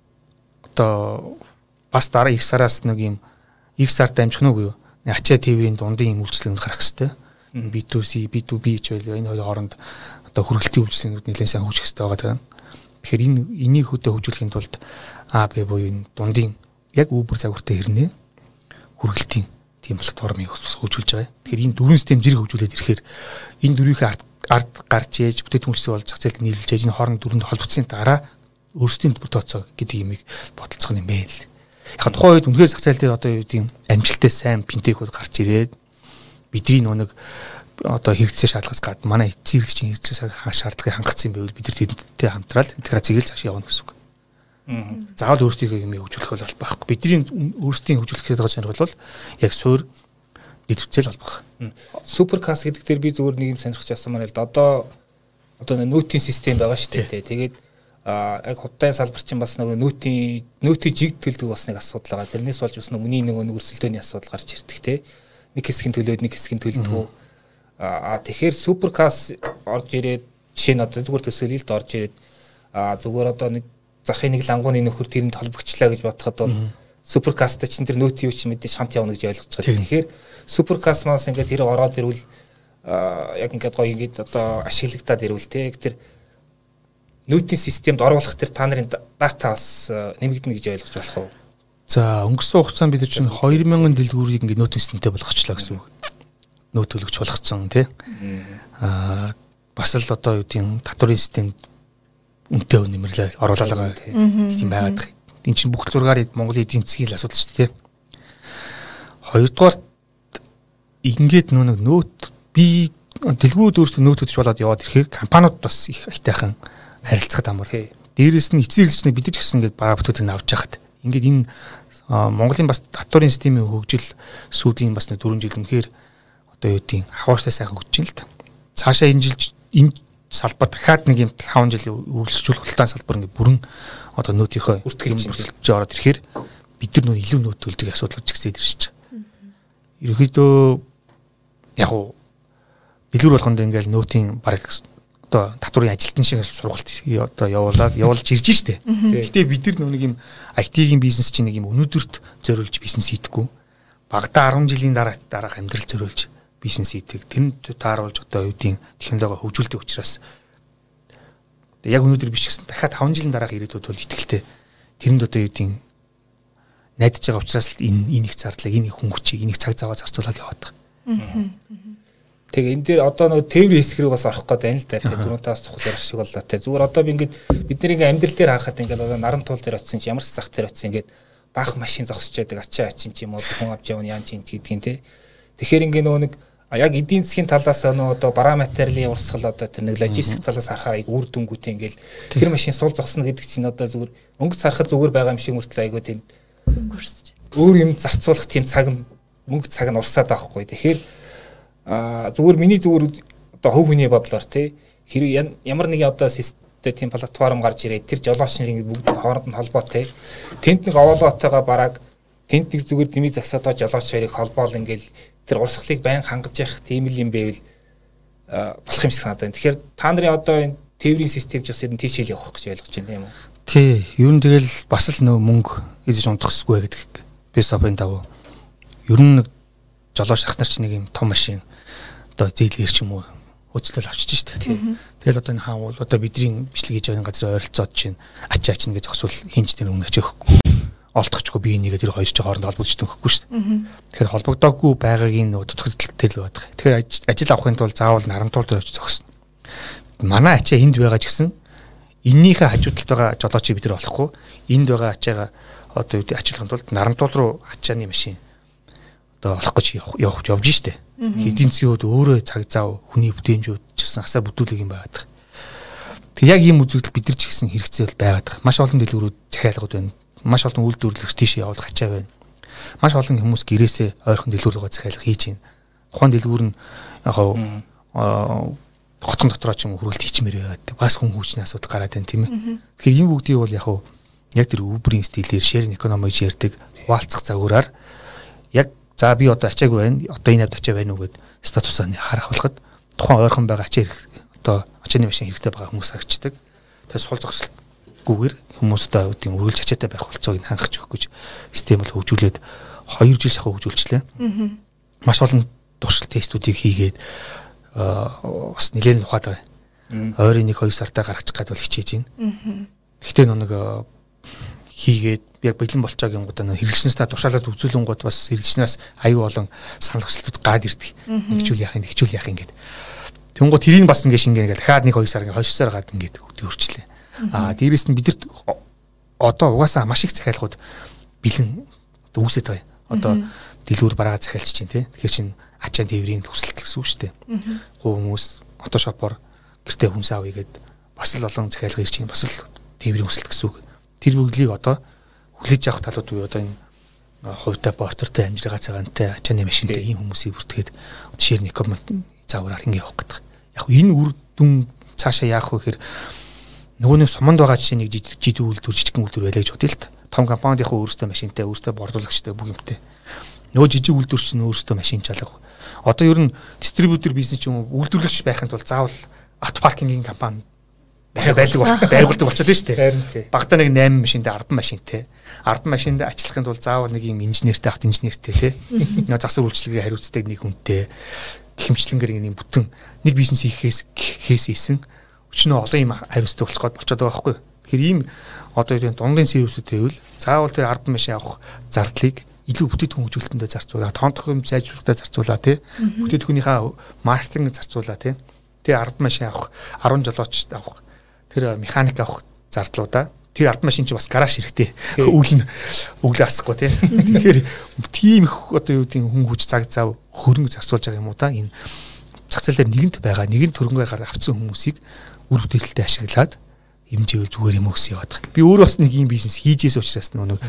C: одоо бас дараа их сараас нэг юм их сард дамжих нь үгүй юу? Ачаа тээврийн дундын юм үйлчлэгүүд гарах хэрэгтэй. би two C, би two B ч байл энэ хоёр хооронд одоо хүргэлтийн үйлчлэгүүд нэлээд сайн хөгжих хэрэгтэй байгаа даа. Тэгэхээр энэ энийг хөдөө хөгжүүлэхийн тулд А Б буюу энэ дундын яг Uber загвартай хэрнээ хүргэлтийн тийм платформыг хөгжүүлж байгаа. Тэгэхээр энэ дөрвөн систем зэрэг хөгжүүлээд ирэхээр энэ дөрвийнхээ ард ард гарч ээж бүтээгдэхүүн үйлчлэг болж зах зээлд нийлүүлж ээж энэ хооронд дөрөнд холбогдсон дараа өөрсдийн төлбөр тооцоо гэдэг юмыг бодолцох юм байна л. Яг тухайн үед үнэхээр зах зээл дээр одоо юу гэдэг юм амжилттай сайн финтехүүд гарч ирээд бидний нэг одоо хэрэгцээ шаардлагаас гад манай эцсийн хэрэгцээ хэрэгцээ шаардлагыг хангацсан байвал бид нар тэдэнтэй хамтраад интеграцийг л цааш явуулна гэсэн үг. Заавал өөрсдийнхөө юм хөгжүүлэх бол байхгүй. Бидний өөрсдийн хөгжүүлэх гэдэг зорилго бол яг суур дэвтцэл холбох.
D: Суперкас гэдэг дээр би зүгээр нэг юм сонирхож авсан маань л да одоо одоо нөтийн систем байгаа шүү дээ. Тэгээд а яг худалдааны салбар чинь бас нэг нөтийн нөтийн жиг төлдөг бас нэг асуудал байгаа. Тэрнээс болж бас нэг үний нэг өрсөлдөөний асуудал гарч ирдэг те. Нэг хэсгийн төлөөд нэг хэсгийн төлдөг. А тэгэхээр суперкас орж ирээд жишээ нь одоо зүгээр төсөөлөлд орж ирээд а зүгээр одоо нэг захын нэг лангууны нөхөр тэрэнд холбогчлаа гэж бодоход бол суперкастай чинь тэр нөтийн юу ч мэдээж хамт явна гэж ойлгож байгаа. Тэгэхээр суперкас мас ингээд тэр ороод ирвэл яг ингээд гоё ингээд одоо ашиглагдаад ирвэл те тэр нөтийн системд оруулах тэр та нарын дата бас нэмэгдэнэ гэж ойлгож болох уу?
C: За өнгөрсөн хугацаанд бид чинь two thousand дэлгүүрийг ингээд нөтийн системтэй болгочлаа гэсэн үг. Нөт төлөгч болгоцсон тий. Аа бас л одоо юу тийм татварын системд үнэтэй нэмэрлээ оруулалгаа тийм байгаад. Энд чинь бүх зургаар Монголын эдийн засгийн асуудал шүү дээ тий. Хоёрдугаар ингээд нөө нэг нөт би дэлгүүрүүд өөрсдөө нөт төлж болоод яваад ирэхээр компаниуд бас их айтайхан харилцахад амар. Дээрээс нь эцсийн хэрэглэгчний бид ч гэсэн ингээд бага бүтээдэг авч яхад. Ингээд энэ Монголын бас татварын системийн хөгжил сүүдийн бас нэг four жил үнэхээр одоо юу тийм хаваартай сайхан хөгжиж байна л да. Цаашаа энэ жил энэ салбар дахиад нэг юм five жил үргэлжлүүлэх хултаан салбар ингээд бүрэн одоо нөтийнхөө бүртгэлж ороод ирэхээр бид нар нөө илүү нөт төлдөг асуудал үүсгэсээр ирж байгаа. Ерөнхийдөө яг уу дэлгүүр болгонд ингээд нөтийн баг одоо татварын ажилтны шиг сургалт одоо явуулаад явуулж ирж штэ. Гэхдээ бид нар нэг юм I T-ийн бизнес чинь нэг юм өнөөдөрт зориулж бизнес хийдэггүй. Багада ten жилийн дараа дараах амьдрал зориулж бизнес хийдэг. Тэнд тааруулж одоо юу гэдэг технологи хөгжүүлдэг учраас яг өнөөдөр биш гэсэн дахиад five жилийн дараах ирээдүйд бол итгэлтэй тэрэнд одоо юу гэдэг найдаж байгаа учраас энэ энэ их зардлыг энэ их хөнгөчийг энэ их цаг заваа зарцуулаад яваад байгаа.
D: Тэгээ энэ дээр одоо нөгөө тээврийн хэсэг рүү бас орох гээд байна л да. Тэгээ түрүүнээс цохол ярих шиг боллоо те. Зүгээр одоо би ингээд бид нэр ингээд амьдрал дээр харахад ингээд одоо наран туул дээр очсон чи ямар ч зах дээр очсон ингээд баах машин зогсож байдаг ачаа ачин ч юм уу хүн авч явна яан чинь гэдгийг те. Тэгэхээр ингээд нөгөө нэг яг эдийн засгийн талаас нөгөө одоо бараа материалын урсгал одоо тэр нэг логистик талаас харахаар айг үр дүнгүйтэй ингээд тэр машин сул зогсно гэдэг чинь одоо зүгээр өнгөц харахад зүгээр байгаа юм шиг мөртлөө айгуу тэнд өнгөрсөж өөр юм зарцуулах тийм цаг мөнгө цаг нь урсаад байхгүй. Тэгэхээр а зүгээр миний зүгээр одоо хөв хүний бодлоор тий хэрэг ямар нэг одоо систем тийм платформ гарч ирээд тэр жолооч нарын бүгд хооронд нь холбоотой тэнд нэг овоолоотойгоо бараг тэнд нэг зүгээр дэмий загсаатаа жолооч хоёрыг холбоол ингээл тэр урсгалыг байн хангаж явах тийм л юм байвал болох юм шиг санагдана. Тэгэхээр та нарын одоо энэ тээврийн систем ч бас ер нь тийш хэл явах гэж ойлгож байна юм уу?
C: Тий, ер нь тэгэл бас л нөө мөнгө эзэж унтахсгүй гэдэг. Би сопын давуу. Ер нь нэг жолооч ах нар ч нэг юм том машин одоо зээлгэр ч юм уу хөцлөл авчиж штэ. Тэгэл одоо энэ хаан бол одоо бидний бичлэг хийж байгаа газар ойролцоод чинь ачаа ач нэг зогсвол хинж тэр өмнө ачаа өгөхгүй. Олдохчгүй би нэгээ тэр хоёр ч хооронд холбогдож өгөхгүй штэ. Тэгэхээр холбогдоогүй байгаагийн дутагдaltaй л байдаг. Тэгэхээр ажил авахын тулд заавал нарамтуул дээр очиж зогсно. Манай ачаа энд байгаа ч гэсэн эннийхээ хажуудалд байгаа жолоочийг бид нар олохгүй. Энд байгаа ачаагаа одоо ачаалахын тулд нарамтуул руу ачааны машин одоо олох гэж явж явж штэ. Эдийн засгийн хувьд өөрөө цаг зав хүний бүтээмжүүд ч гэсэн асаа бүтүүлэг юм байгаад. Тэг яг ийм үзэгдэл бид нар ч гэсэн хэрэгцээл байгаад. Маш олон дэлгүүрүүд захиалгууд байна. маш олон үйлдвэрлэгч тийш яваад гачаа байна. Маш олон хүмүүс гэрээсээ ойрхон дэлгүүр рүү захиалга хийж байна. Тухайн дэлгүүр нь яг аа хотон дотроо ч юм хөрөлт хийчмээр байдаг. Бас хүн хүчний асуудал гараад байна тийм ээ. Тэгэхээр энэ бүгдийг бол яг яг тэр Uber-ийн стилээр sharing economy гэж ярьдаг хуваалцах загвараар яг за би одоо ачаагүй байна. Одоо энэ авд ачаа байна уу гэд статусаа харах болоход тухайн ойрхон байгаа ачаа одоо ачааны машин хэрэгтэй байгаа хүмүүс харагддаг. Тэгэхээр сул зогсолгүйгээр хүмүүс одоо үгийн үргэлж ачаатай байх болцоог хангах өгөх гэж систем бол хөгжүүлээд хоёр жил шахуу хөгжүүлчихлээ. Маш олон туршилт тестүүдийг хийгээд бас нэлээд ухаад байгаа. Ойрын нэг хоёр сартаа гаргачих гад бол хичээж байна. Гэхдээ нэг хийгээд яг бэлэн болчоогийн гоо нөө хэрэглэснээс тушаалаад үзүүлэн гот бас хэрэглэснээс аюу олон санал хүсэлтүүд гад ирдэг. Нэгжүүл яах юм, нэгжүүл яах юм гээд. Тэнгуут тэрийг бас ингэ шингээ ингээд дахиад нэг хоёр сар ингээд хойш сар гад ингээд өөрчлөлээ. Аа дээрээс нь бидэрт одоо угаасаа маш их захиалгууд бэлэн одоо үүсэж байгаа. Одоо дэлгүүр бараа захиалж чинь тий. Тэгэхээр чин ачаан тээврийн төсөлт гэсэн үг шүү дээ. Гоо хүмүүс одоо шопор гэртээ хүнс авъя гээд бас л олон захиалга ирж чинь бас л тээврийн төсөлт гэсэн үг. Тэр бүглийг одоо хүлээж авах талууд буюу одоо энэ хувьтай портертэй амжиргаа цагаантай ачааны машинтай ийм хүмүүсийг бүртгээд шир некомент заавраар ингэ явах гэдэг. Яг энэ үр дүн цаашаа яах вэ гэхээр нөгөө нэг суманд байгаа жишээ нэг жижиг үйлдвэр жижигхэн үйлдвэр байлаа гэж бодъё л та. Том компанид яг өөрөөсөө машинтай, өөрөөсөө борлуулагчтай бүх юмтай. Нөгөө жижиг үйлдвэрч нь өөрөөсөө машин чалга. Одоо ер нь дистрибьютор бизнес ч юм уу үйлдвэрлэгч байхын тулд заавал авто паркингийн компани байлаг байгуулдаг болчиход шүү дээ. Багтаа нэг восемь машинтай, десять машинтай. десять машинд ажиллахын тулд заавал нэг юм инженертэй, авто инженертэй тий. Нөгөө засвар үйлчлэгээ хариуцдаг нэг хүнтэй хэмжлэнгээр нэг бүтэн нэг бизнес хийхээс хийхээс ийсэн өчнөө олон юм хариуцдаг болох гээд болчиход байгаа байхгүй. Тэгэхээр ийм одоо юу гэдэг дундын сервисүүд байвал заавал тэр десять машин авах зардлыг илүү бүтээгдэхүүн хөгжүүлэлтэндээ зарцуулаа, тоонтох юм сайжруулалтаа зарцуулаа тий. Бүтээгдэхүүнийхээ маркетинг зарцуулаа тий. Тэр десять машин авах, десять жолооч авах, тэр механик авах зардлуудаа тэр десять машин чи бас гараж хэрэгтэй. Үйл нь өглөө асахгүй тий. Тэгэхээр тийм их одоо юу гэдэг хүн хүч цаг зав хөрөнгө зарцуулж байгаа юм уу та энэ зах зээл дээр нэгэнт байгаа, нэгэн төрөнгөөр гар авцсан хүмүүсийг үр бүтээлтэй ашиглаад хэмжээвэл зүгээр юм өгс яваад байгаа. Би өөрөө бас нэг ийм бизнес хийжээс учраас нэг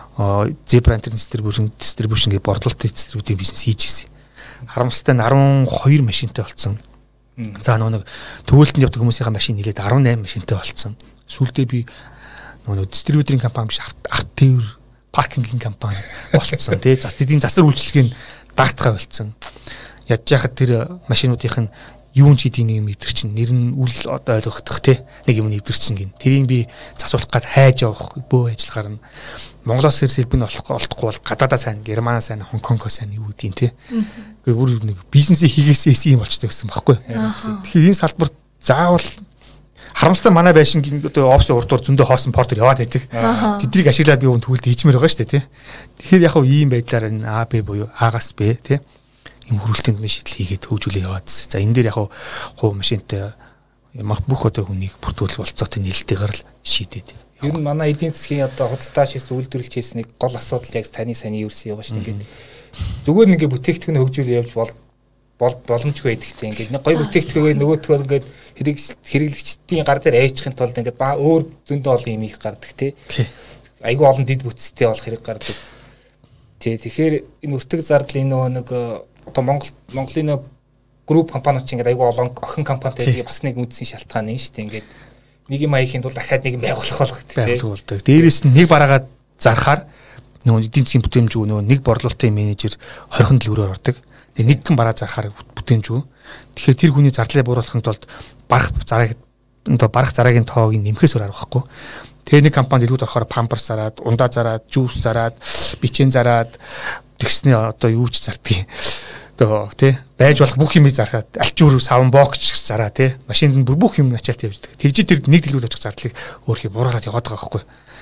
C: Zebra Distribution Distribution гэх борлуулалтын дистрибьютийн бизнес хийжсэн. Харамсалтай нь десять two машинтай болсон. За нөгөө нэг төвөлтөнд явдаг хүмүүсийн машин нэлээд десять eight машинтай болсон. Сүүлдээ би нөгөө дистрибьюторын компани биш авто тээвэр паркингийн компани болсон тий. За тэдний засвар үйлчлэгийг дагтахаа болсон. Ядж яхад тэр машинуудын юун ч хийдийн нэг юм өвдөр чинь нэр нь үл одоо ойлгохдох тий нэг юм өвдөрчин гин. Тэрийг би засуулах гад хайж явах бөө ажиллагаар нь Монголоос ирсэн хэлбэн олохгүй бол гадаадаа сайн, Германаа сайн, Хонконгоо сайн юу гэдгийг тий. Гэхдээ бүр нэг бизнесээ хийгээсээс юм болчтой байсан байхгүй. Тэгэхээр энэ салбарт заавал харамсалтай манай байшингийн одоо офсын урдуур зөндөө хоосон портер яваад байдаг. Тэдрийг ашиглаад би өнд төвлөлт хийчмээр байгаа шүү дээ тий. Тэгэхээр яг хав ийм байдлаар энэ А Б буюу А-гаас Б тий ийм хөрвөлтөнд шийдэл хийгээд хөгжүүлээ яваад. За энэ дээр яг хуу машинтай бүх одоо хүнийг бүртгүүлэх болцоотой нээлттэйгээр л шийдээд.
D: Ер нь манай эдийн засгийн одоо худалдаа шийдсэн үйлдвэрлэж хийсэн нэг гол асуудал яг таны сайн юурсан яваа шүү дээ. Ингээд зүгээр нэг бүтээгдэхүүн хөгжүүлээ явж бол боломжгүй байдагтай. Ингээд нэг гоё бүтээгдэхүүнээ нөгөөтгөө ингээд хэрэглэгчдийн гар дээр аяжихын тулд ингээд ба өөр зөндөө олон юм их гардаг тий. Айгүй олон дид бүтцтэй болох хэрэг гардаг. Тий тэгэхээр энэ өртөг зардлын нөгөө нэг одоо Монгол Монголын нэг групп компаниуд чинь ингээд айгүй олон охин компанитай бас нэг үндсэн шалтгаан нь шүү дээ. Ингээд нэг юм аяхийн тулд дахиад нэг юм байгуулах болох тий.
C: Байгуулдаг. Дээрээс нь нэг бараагаад зархаар нөгөө эдийн засгийн бүтээмжгүй нөгөө нэг борлуулалтын менежер хорхон дэлгүүрээр ордог. Тэгээ нэг гэн бараа зархаар бүтээмжгүй. Тэгэхээр тэр хүний зардлыг бууруулахын тулд барах зараг одоо барах зараагийн тоог нэмэхээс өөр арга байхгүй. Тэгээ нэг компани дэлгүүрт орохоор памперс зараад, ундаа зараад, жуус зараад, бичэн зараад тэгснээ одоо юу ч зардгийг. Одоо тий байж болох бүх юмыг зархаад альчуур савн бокч зараа тий машинд нь бүр бүх юм ачаалт явждаг. Тэгж тэр нэг дэлгүүр очих зардлыг өөрхий бууруулаад яваад байгаа байхгүй.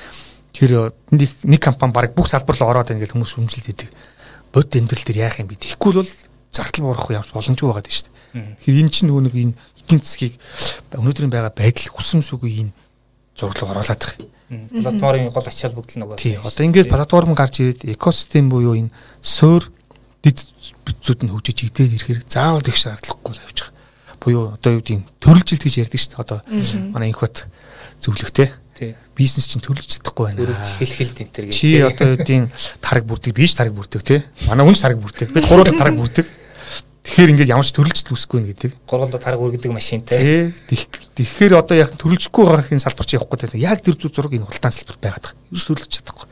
C: Тэр нэг нэг компани баг бүх салбар руу ороод ингээд хүмүүс шүмжилт хийдэг. Бод тэмдэглэл төр яах юм бэ? Тэгэхгүй бол зардал буурах юм боломжгүй байгаа дээ шүү дээ. Тэгэхээр энэ чинь нөгөө нэг энэ эдийн засгийг өнөөдрийн байгаа байдал хүссэн сүгүй энэ зураглал оруулаад байгаа.
D: Платформын гол ачаал бүгд л нөгөө.
C: Тий. Одоо ингээд платформ гарч ирээд экосистем буюу энэ суур дэд бүтцүүд нь хөгжиж идээд ирэхээр заавал их шаардлагагүй явж байгаа. Буюу одоо юу гэдэг нь төрөлжилт гэж ярьдаг шүү дээ. Одоо манай инхот зөвлөгтэй Бизнес чинь төрөлж чадахгүй байна.
D: Төрөлж хэлхэлд энэ төр гэж.
C: Чи одоо үеийн тараг бүрдэг, биш тараг бүрдэг тий. Манай хүн тараг бүрдэг. Бид гурвууд тараг бүрдэг. Тэгэхээр ингээд ямар ч төрөлжт үсэхгүй нэ гэдэг.
D: Гурвуулаа тараг үргэдэг машинтай.
C: Тий. Тэгэхээр одоо яг төрөлжихгүй байгаахын салбар чи явахгүй тий. Яг тэр зураг энэ хултаан салбар байгаад байгаа. Ерөөс төрөлж чадахгүй.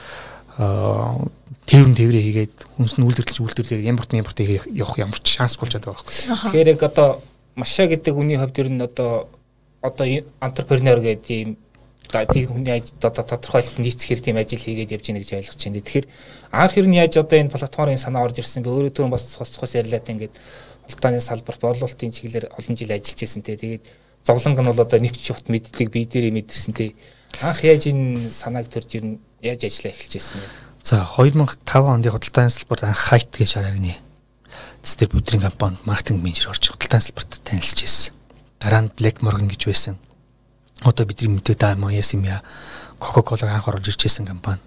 C: Аа тээврэн тээврээ хийгээд хүнс нь үйлдвэрлэж үйлдвэрлээ импорт импорт явах ямар ч шансгүй болж байгаа байхгүй.
D: Тэгэхээр яг одоо Маша гэдэг хүний хувьд ер нь одоо одоо энтерпренер гэдэг ийм тийм хүний одоо тодорхойлолт нийцэхээр тийм ажил хийгээд явж байгаа гэж ойлгож байна. Тэгэхээр анх ер нь яаж одоо энэ платформын санаа орж ирсэн бэ? Өөрөө түрүүн бас цус цус ярьлаа та ингээд улдааны салбарт борлуулалтын чиглэлээр олон жил ажиллаж байсан те. Тэгээд зовлонг нь бол одоо нэвч шухт мэддэг бие дээрээ мэдэрсэн те. Анх яаж энэ санааг төрж ер нь яаж ажиллаа эхэлж байсан бэ?
C: За two thousand five онд худалдааны салбарт анх хайт гэж шаарганы дистрибьюторын компанид маркетинг менежер орж худалдааны салбарт танилцж ирсэн. Дараа нь Black Morgan гэж байсан. Одоо бидний мэдээ даамаа Ясимя Coca-Cola анх оруулж ирж байсан компани.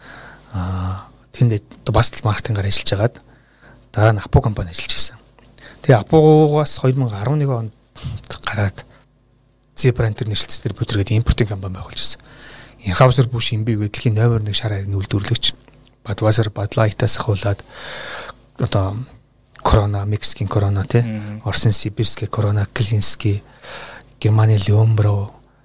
C: Аа тэнд бас маркетингаар ажиллаж агаад дараа нь Apo компани ажиллаж ирсэн. Тэгээ Apo-гоос two thousand eleven онд гараад Zebra International Distributor гэдэг импортын компани байгуулж ирсэн. Anheuser-Busch InBev дэлхийн номер one шар хайрны үйлдвэрлэгч. Budweiser, Bud Light-аас ахуулаад одоо Corona, Мексикийн Corona тий, Орсын Сибирский Corona, Клинский, Германы Леомбро,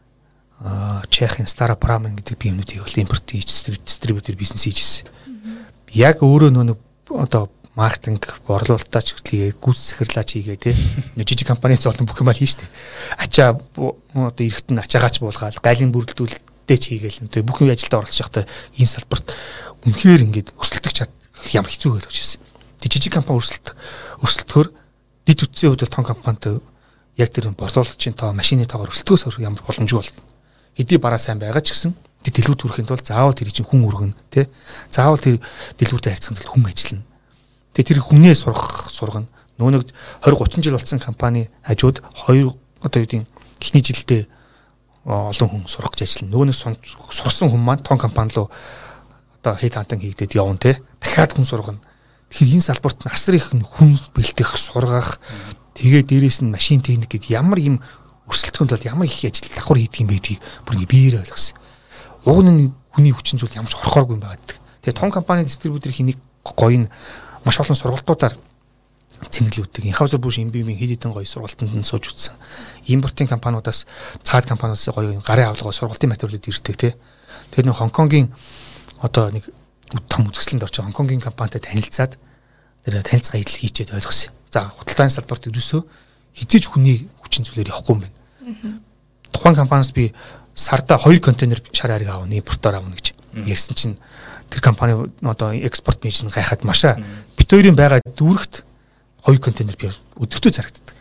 C: Чехийн Stara Pramen гэдэг биенүүдийг бол импорт хийж дистрибьютор бизнес хийжсэн. Яг өөрөө нөө одоо маркетинг борлуулалтаач хэлээ гүйц захирлаач хийгээ тий. Жижиг компани золон бүх юм аа хийж штэ. Ачаа одоо эрэхтэн ачаагаач буулгаад гайлын бүрэлдүүлэлттэй ч хийгээл. Тэгээ бүх юм ажилдаа оролцож байхдаа энэ салбарт үнэхээр ингээд өрсөлдөх чад ямар хэцүү байлгаж ирсэн. Тэг жижиг компани өрсөлдөх өрсөлдөхөөр дид үтсийн хувьд том компанитай яг тэр борлуулагчийн тоо машины тоогоор өрсөлдөхөөс ямар боломжгүй бол хэдий бараа сайн байгаа ч гэсэн тэр дэлгүүр төрөхийн тулд заавал тэр чинь хүн өргөн тий заавал тэр дэлгүүртэй харьцахын тулд хүн ажиллана. Тэг тэр хүнээ сурах сургана. Нөө нэг twenty thirty жил болсон компани хажууд хоёр одоо юу гэдэг эхний жилдээ олон хүн сурах гэж ажиллана. Нөгөө нэг сурсан хүн маань том компани руу одоо хейт хантан хийгдээд явна тий дахиад хүн сургана. Тэгэхээр энэ салбарт асар их хүн бэлтгэх, сургах, тэгээ дээрээс нь машин техник гэдэг ямар юм өрсөлдөхөнд бол ямар их ажил давхар хийдэг юм бэ гэдгийг бүр ингэ биеэр ойлгосон. Уг нь хүний хүчин зүйл ямар ч орхооргүй юм байдаг. Тэгээ том компани дистрибьютор хийх гоё нь маш олон сургалтуудаар цэнэглүүлдэг. Anheuser-Busch InBev-ийн хэд хэдэн гоё сургалтанд нь сууж үтсэн. Импортын компаниудаас цаад компаниудаас гоё гарын авалгаа сургалтын материалууд ирдэг тий. Тэгээ нэг Хонконгийн одоо нэг том үзэсгэлэнд орж Хонконгийн компанитай танилцаад тэр танилцгаа идэл хийчихэд ойлгосон. За худалдааны салбарт ерөөсөө хизээж хүний хүчин зүйлээр явахгүй юм байна. Тухайн компаниас би сарда two контейнер шар хариг аавна, импортоор аавна гэж ярьсан чинь тэр компани одоо экспорт менежер гайхаад машаа бит хоёрын байгаа дүүрэгт two контейнер би өдөртөө зарагддаг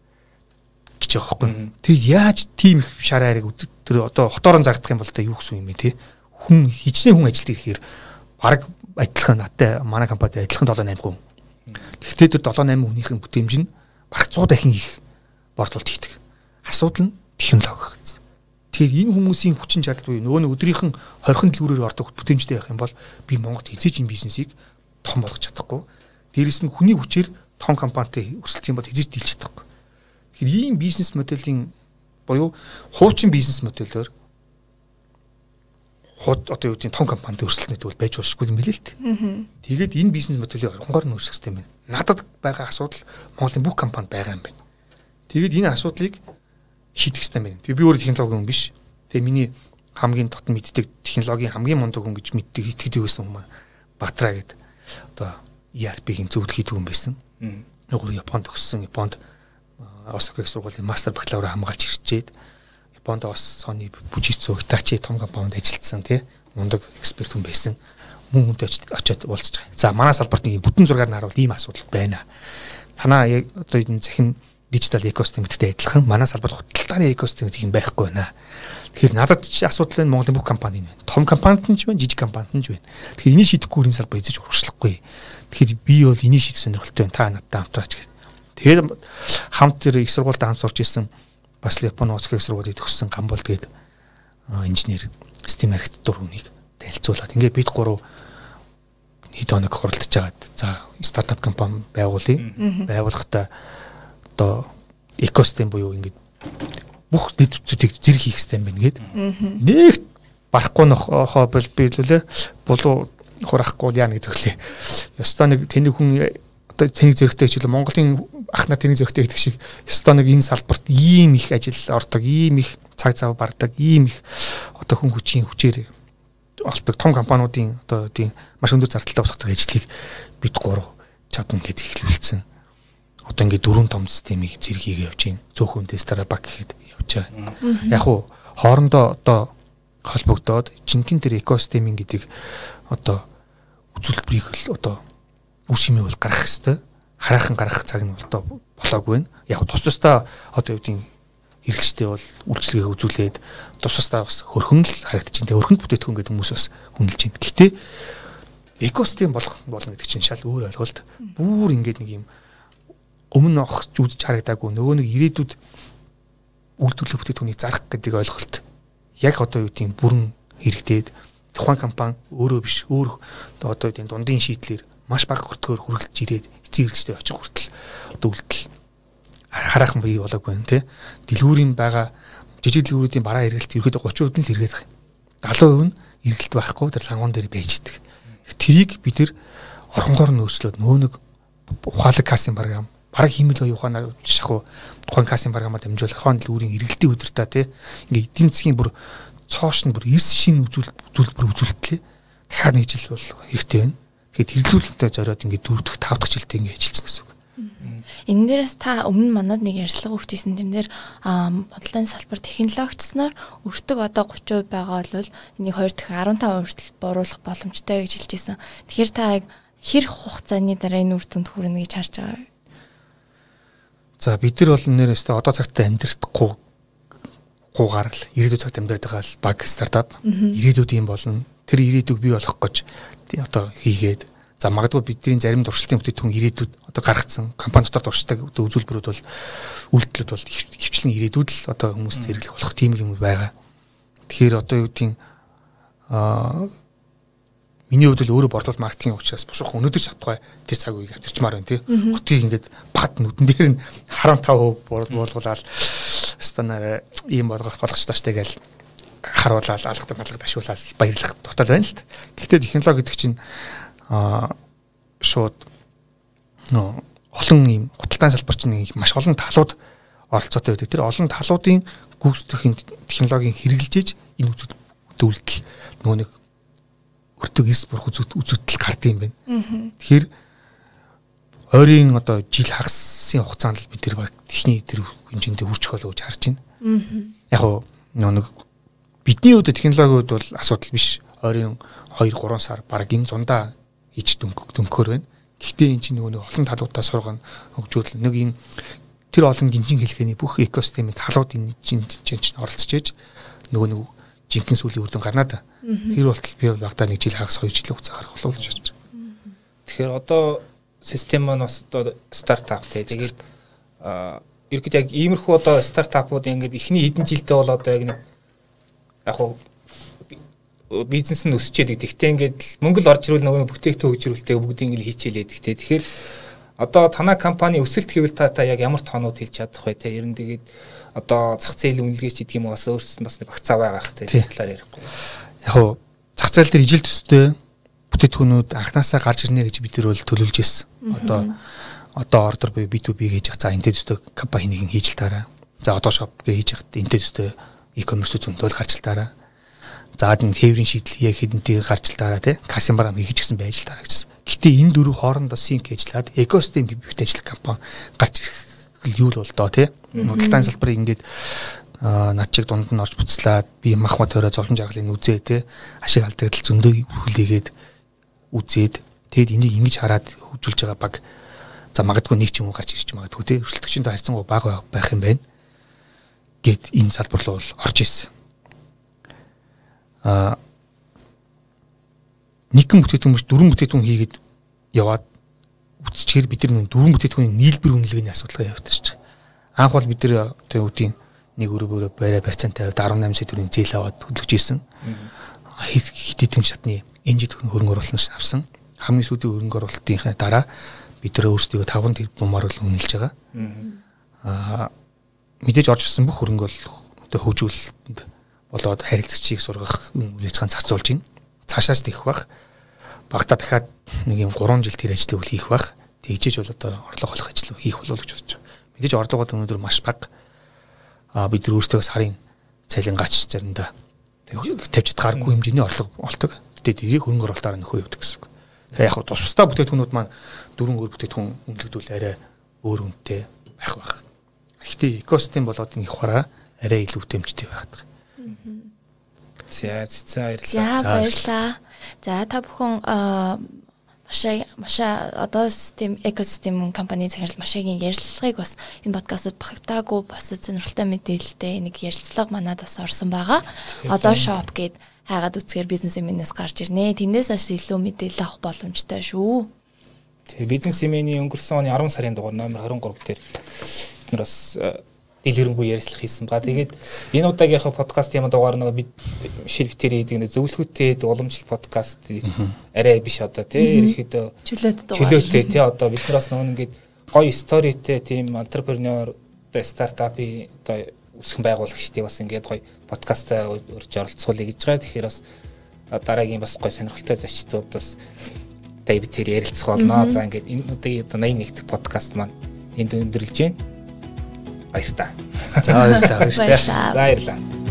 C: гэж байгаа байхгүй. Тэгээд яаж тийм их шар хариг өдөр одоо хотоорон зарагдах юм бол та юу гэсэн юм бэ те? Хүн хичнээн хүн ажилтдаг гэхээр бараг адилхан надтай манай компанид адилхан seven eight хүн. Гэхдээ тэр seven eight хүнийхэн бүтээмж нь бараг one hundred дахин их борлуулалт хийдэг. Асуудал нь технологи гэсэн. Тэгэхээр энэ хүмүүсийн хүчин чадал буюу нөгөө нэг өдрийнхэн хорхон дэлгүүрээр ордог бүтээмжтэй байх юм бол би Монголд эзэж энэ бизнесийг том болгож чадахгүй. Дээрээс нь хүний хүчээр том компанитай өрсөлдөх юм бол эзэж дийлж чадахгүй. Тэгэхээр ийм бизнес моделийн буюу хуучин бизнес модельээр хот одоо юу гэдэг том компанид өрсөлдөхөд бол байж болшгүй юм билээ л дээ. Тэгээд энэ бизнес моделийг оронгоор нь өөрчлөх хэрэгтэй юм байна. Надад байгаа асуудал Монголын бүх компанид байгаа юм байна. Тэгээд энэ асуудлыг шийдэх хэрэгтэй юм байна. Тэгээ би өөрөө технологи хүн биш. Тэгээ миний хамгийн дотн мэддэг технологийн хамгийн мундаг хүн гэж мэддэг итгэдэг байсан хүмүүс Батраа гэдэг одоо E R P-ийн зөвлөх хийдэг хүн байсан. Нөгөө Японд төгссөн, Японд Осака их сургуулийн мастер бакалавра хамгаалж ирчээд Японд бас Sony, Fujitsu, Hitachi том компанид ажилласан тий мундаг эксперт хүн байсан. Мөн хүнтэй очиод уулзж байгаа. За манай салбарт нэг бүтэн зургаар нь харуул ийм асуудал байна. Танаа яг одоо энэ захин дижитал экосистемтэй адилхан манай салбарт худалдааны экосистем гэх юм байхгүй байна. Тэгэхээр надад чи асуудал байна Монголын бүх компани байна. Том компанид нь ч байна, жижиг компанид нь ч байна. Тэгэхээр энийг шийдэхгүй энэ салбар эзэж урагшлахгүй. Тэгэхээр би бол энийг шийдэх сонирхолтой байна. Та надтай хамтраач гэх. Тэгээд хамт тэр их сургуультай хамт сурч ирсэн бас Японы Осака их сургуулийг төгссөн Гамбол гээд инженер, систем архитектур хүнийг танилцуулаад ингээд бид гурав хэд хоног хуралдаж жагаад за стартап компани байгуулъя. Байгуулахдаа одоо экосистем буюу ингээд бүх дэд үтсүүдийг зэрэг хийх хэрэгтэй юм байна гээд. Нэг барахгүй нохоо бол бийлүүлээ болоо хурахгүй яа нэг төглөө. Ёстой нэг тэнэг хүн одоо тэнэг зөрөгтэй хичээл Монголын ахна тэнэг зөрөгтэй гэдэг шиг ёстой нэг энэ салбарт ийм их ажил ордог, ийм их цаг зав бардаг, ийм их одоо хүн хүчийн хүчээр олдог том компаниудын одоо тийм маш өндөр зардалтай босгодог ажлыг бид гурав чадна гэж ихлүүлсэн. Одоо ингээд дөрвөн том системийг зэрэг хийгээ явж байна. Цөөхөн Starbucks гэхэд явж байгаа. Яг уу хоорондоо одоо холбогдоод жинхэнэ тэр экосистемийн гэдэг одоо үзүүлбэрийг л одоо үр шимээ бол гаргах хэвээр хараахан гаргах цаг нь одоо болоогүй байна. Яг тус тусдаа одоо юу гэдэг хэрэглэгчтэй бол үйлчлэгээ үзүүлээд тус тусдаа бас хөрхөн л харагдаж байна. Хөрхөнд бүтээтгүн гэдэг хүмүүс бас хүндэлж байна. Гэхдээ экосистем болох болно гэдэг чинь шал өөр ойлголт. Бүүр ингээд нэг юм өмнө авах үзэж харагдаагүй нөгөө нэг ирээдүйд үйлдвэрлэх бүтээтгүнийг зарах гэдэг ойлголт. Яг одоо юу гэдэг бүрэн хэрэгдээд тухайн компани өөрөө биш өөр одоо юу гэдэг дундын шийдлэр маш бага хүртгээр хүргэлж ирээд эцэг хэрэглэгчтэй очих хүртэл одоо үйлдэл хараахан бий болоогүй юм тий. Дэлгүүрийн байгаа жижиг дэлгүүрүүдийн бараа эргэлт ерөөдөө гурван хувь нь л эргээд байгаа. галуу хувь нь эргэлт байхгүй тэр лангуун дээр байж идэг. Тэрийг бид нэр оронгоор нөөцлөөд нөө нэг ухаалаг касын програм бараг хиймэл ухаанаар шахуу тухайн касын програмаар дамжуулах ухаан дэлгүүрийн эргэлтийн өдөр та тий ингээ эдийн засгийн бүр цоош нь бүр эрс шин үзүүл үзүүлбэр үзүүлэлтлээ дахиад нэг жил бол хэрэгтэй байна. Тэгэхээр хэрэглүүлэлттэй зориод ингээ дөрөвдөх тав дахь жилдээ ингээ ажиллаж гэсэн үг.
B: Энэ дээрээс та өмнө манад нэг ярьцлага өгчээсэн тэр нэр бодлогын салбар технологичсноор өртөг одоо гурван хувь байгаа бол энийг хоёр дахь арван таван хүртэл бууруулах боломжтой гэж хэлжсэн. Тэгэхээр та хэр хугацааны дараа энэ үр дүнд хүрнэ гэж харж байгаа.
C: За бид нар бол нэрээсээ одоо цагт амьдрахгүй гуугаар л ирээдүйн цагт амьдраад байгаа л баг стартап ирээдүйд юм болно. Тэр ирээдүйг бий болгох гэж одоо хийгээд за магадгүй бидний зарим туршилтын бүтээгдэхүүн ирээдүйд одоо гаргацсан компани дотор туршдаг үзүүлбэрүүд бол үйлдэлүүд бол хөвчлэн ирээдүйд л одоо хүмүүст хэрэглэх болох тийм юм байгаа. Тэгэхээр одоо юу гэдгийг аа миний хувьд л өөрөө борлуулалт маркетинг учраас бушуух өнөөдөр чадахгүй тэр цаг үеийг авчирчмаар байна тий. Хотыг ингээд бат нүдэн дээр нь харам тав буулгуулаад станаар ийм болгох болох ч тааштай гээл харуулаад алгад малгад ашиглаад баярлах тутал байна л. Гэхдээ технологи гэдэг чинь аа шууд нөө олон ийм худалдааны салбар чинь маш олон талууд оролцоотой байдаг. Тэр олон талуудын гүйцэтгэх технологийн хэрэгжилж энэ үзүүлэлт нөө нэг өртөг эс бурх үзүүлэлт гардаг юм байна. Тэгэхээр ойрын одоо жил хагасын хугацаанд л бид тэр баг техник тэр хэмжээндээ хүрчих болов гэж харж байна. Яг нөө нэг бидний хувьд технологиуд бол асуудал биш. Ойрын хоёр гурван сар баг энэ зундаа хийж дөнгөхөр байна. Гэхдээ энэ чинь нөгөө олон талуудаа сургана хөгжүүл нэг энэ тэр олон гинжин хэлхээний бүх экосистемийн талууд энэ чинь чинь оролцож ээж нөгөө нэг жинхэнэ сүлийн үр дүн гарнаа да. Тэр болтол би багтаа нэг жил хагас хоёр жилийн хугацаа гарах болов гэж бодож байна.
D: Тэгэхээр одоо систем маань бас одоо стартап тий. Тэгээд ерөөд яг иймэрхүү одоо стартапууд ингээд ихний хэдэн жилдээ бол одоо яг нэг яг хуу бизнес нь өсчээд гэхдээ ингээд мөнгө л орж ирвэл нөгөө бүтээгдэхүүн хөгжрүүлэлтээ бүгдийг ингээд хийчихэлээд гэхдээ тэгэхээр одоо танай компани өсөлт хэвэл та та яг ямар тоонууд хэлж чадах вэ те ер нь тэгээд одоо зах зээл үнэлгээч гэдэг юм бас өөрсдөд бас нэг багцаа байгаа хэ те талаар ярихгүй.
C: Яг хуу зах зээл дээр ижил төстэй бүтээгдэхүүнүүд анханасаа гарч ирнэ гэж бид нар бол төлөвлөж ирсэн. Одоо одоо ордер буюу би ту би гэж за энтэй төстэй компаниг хийж л таараа. За одоо шоп гэж хийж хахад энтэй төстэй e-commerce зөндөл гарч л таараа. За энэ тээврийн шийдэл яг хэдэнтэй гарч л таараа тий касын барам хийж гисэн байж л таараа гэсэн. Гэтэ энэ дөрөв хоорондоо синк ажиллаад экосистем бивхтэй ажиллах компани гарч ирэх юу л бол доо тий. Худалдааны салбарыг ингээд над чиг дунд нь орж буцлаад би мах мат төрөө зовлон жаргалыг үзээ тий ашиг алдагдал зөндөө хүлээгээд үзээд тэгэд энийг ингэж хараад хөгжүүлж байгаа баг за магадгүй нэг ч юм уу гарч ирж магадгүй тий өршөлтөгчөнд харьцангуй бага байх юм байна гэд энэ салбар руу орж ирсэн. А нэгэн бүтээгдэхүүн биш дөрвөн бүтээгдэхүүн хийгээд яваад үтсчээр бид нар дөрвөн бүтээгдэхүүний нийлбэр үнэлгээний асуудал явагдаж байна. Анх бол бид нар одоо үеийн нэг өрөөгөөрөө барай байцаантай тавьд арван найман сая төгрөгийн зээл аваад хөдөлгөж ийсэн. Хэд хэдэн шатны энжид хөрөнгө оруулалт авсан. Хамгийн сүүлийн хөрөнгө оруулалтын дараа бид нар өөрсдөө таван тэрбумаар л үнэлж байгаа. Аа мэдээж орж ирсэн бүх хөрөнгө бол одоо хөгжүүлэлтэнд болоод харилцагчийг сургах үйл ажиллагаанд зарцуулж байна. Цаашаас тийх бах. Багтаа дахиад нэг юм гурван жил тэр ажлыг хийх бах. Тэгжээж бол одоо орлого олох ажил хийх болов гэж бодож байна. Мэдээж орлогод өнөөдөр маш бага. А бид нар өөрсдөө сарын цалин гач заримдаа тавьж чадхааргүй хэмжээний орлого олдог. Тэгтээ тэрийг хөрөнгө оруулалтаар нөхөө явдаг гэсэн үг. Тэгээ яг тус тусдаа бүтээгдэхүүнүүд маань дөрвөн өөр бүтээгдэхүүн үнэлэгдүүл арай өөр үнэтэй байх байх. Гэхдээ экосистем болоод их хараа арай илүү тэмцтэй байгаад байна.
D: За за
B: баярлалаа. За баярлалаа. За та бүхэн маш маш одоо систем экосистем компани захирал Машагийн ярилцлагыг бас энэ подкастт багтаагүй бас сонирхолтой мэдээлэлтэй нэг ярилцлага манад бас орсон байгаа. Одоо shop гээд хайгаад үцгээр бизнес эмэнээс гарч ирнэ. Тэндээс бас илүү мэдээлэл авах боломжтой шүү.
D: Тэгээ бизнес эмэний өнгөрсөн оны арван сарын дугаар номер двадцать три дээр бид нар бас дэлгэрэнгүй ярилцлага хийсэн ба. Тэгээд энэ удаагийнхаа подкаст юм дугаар нэг бид ширхтэр хийдэг нэг зөвлөхөттэй уламжлалт подкаст арай биш одоо тий ерөөхдөө
B: чөлөөт дугаар.
D: Чөлөөтэй тий одоо бид нараас нэг ингээд гоё сторитэй тийм entrepreneur стартапын одоо үсгэн байгуулагчдыг бас ингээд гоё подкастаа урьж оролцуулъя гэж байгаа. Тэгэхээр бас дараагийн бас гоё сонирхолтой зочдууд бас Дэвид тэр ярилцах болно. За ингээд энэ удаагийн одоо восемьдесят дахь подкаст маань энд өндөрлж байна. Баярлалаа.
C: За баярлалаа.
D: За баярлалаа.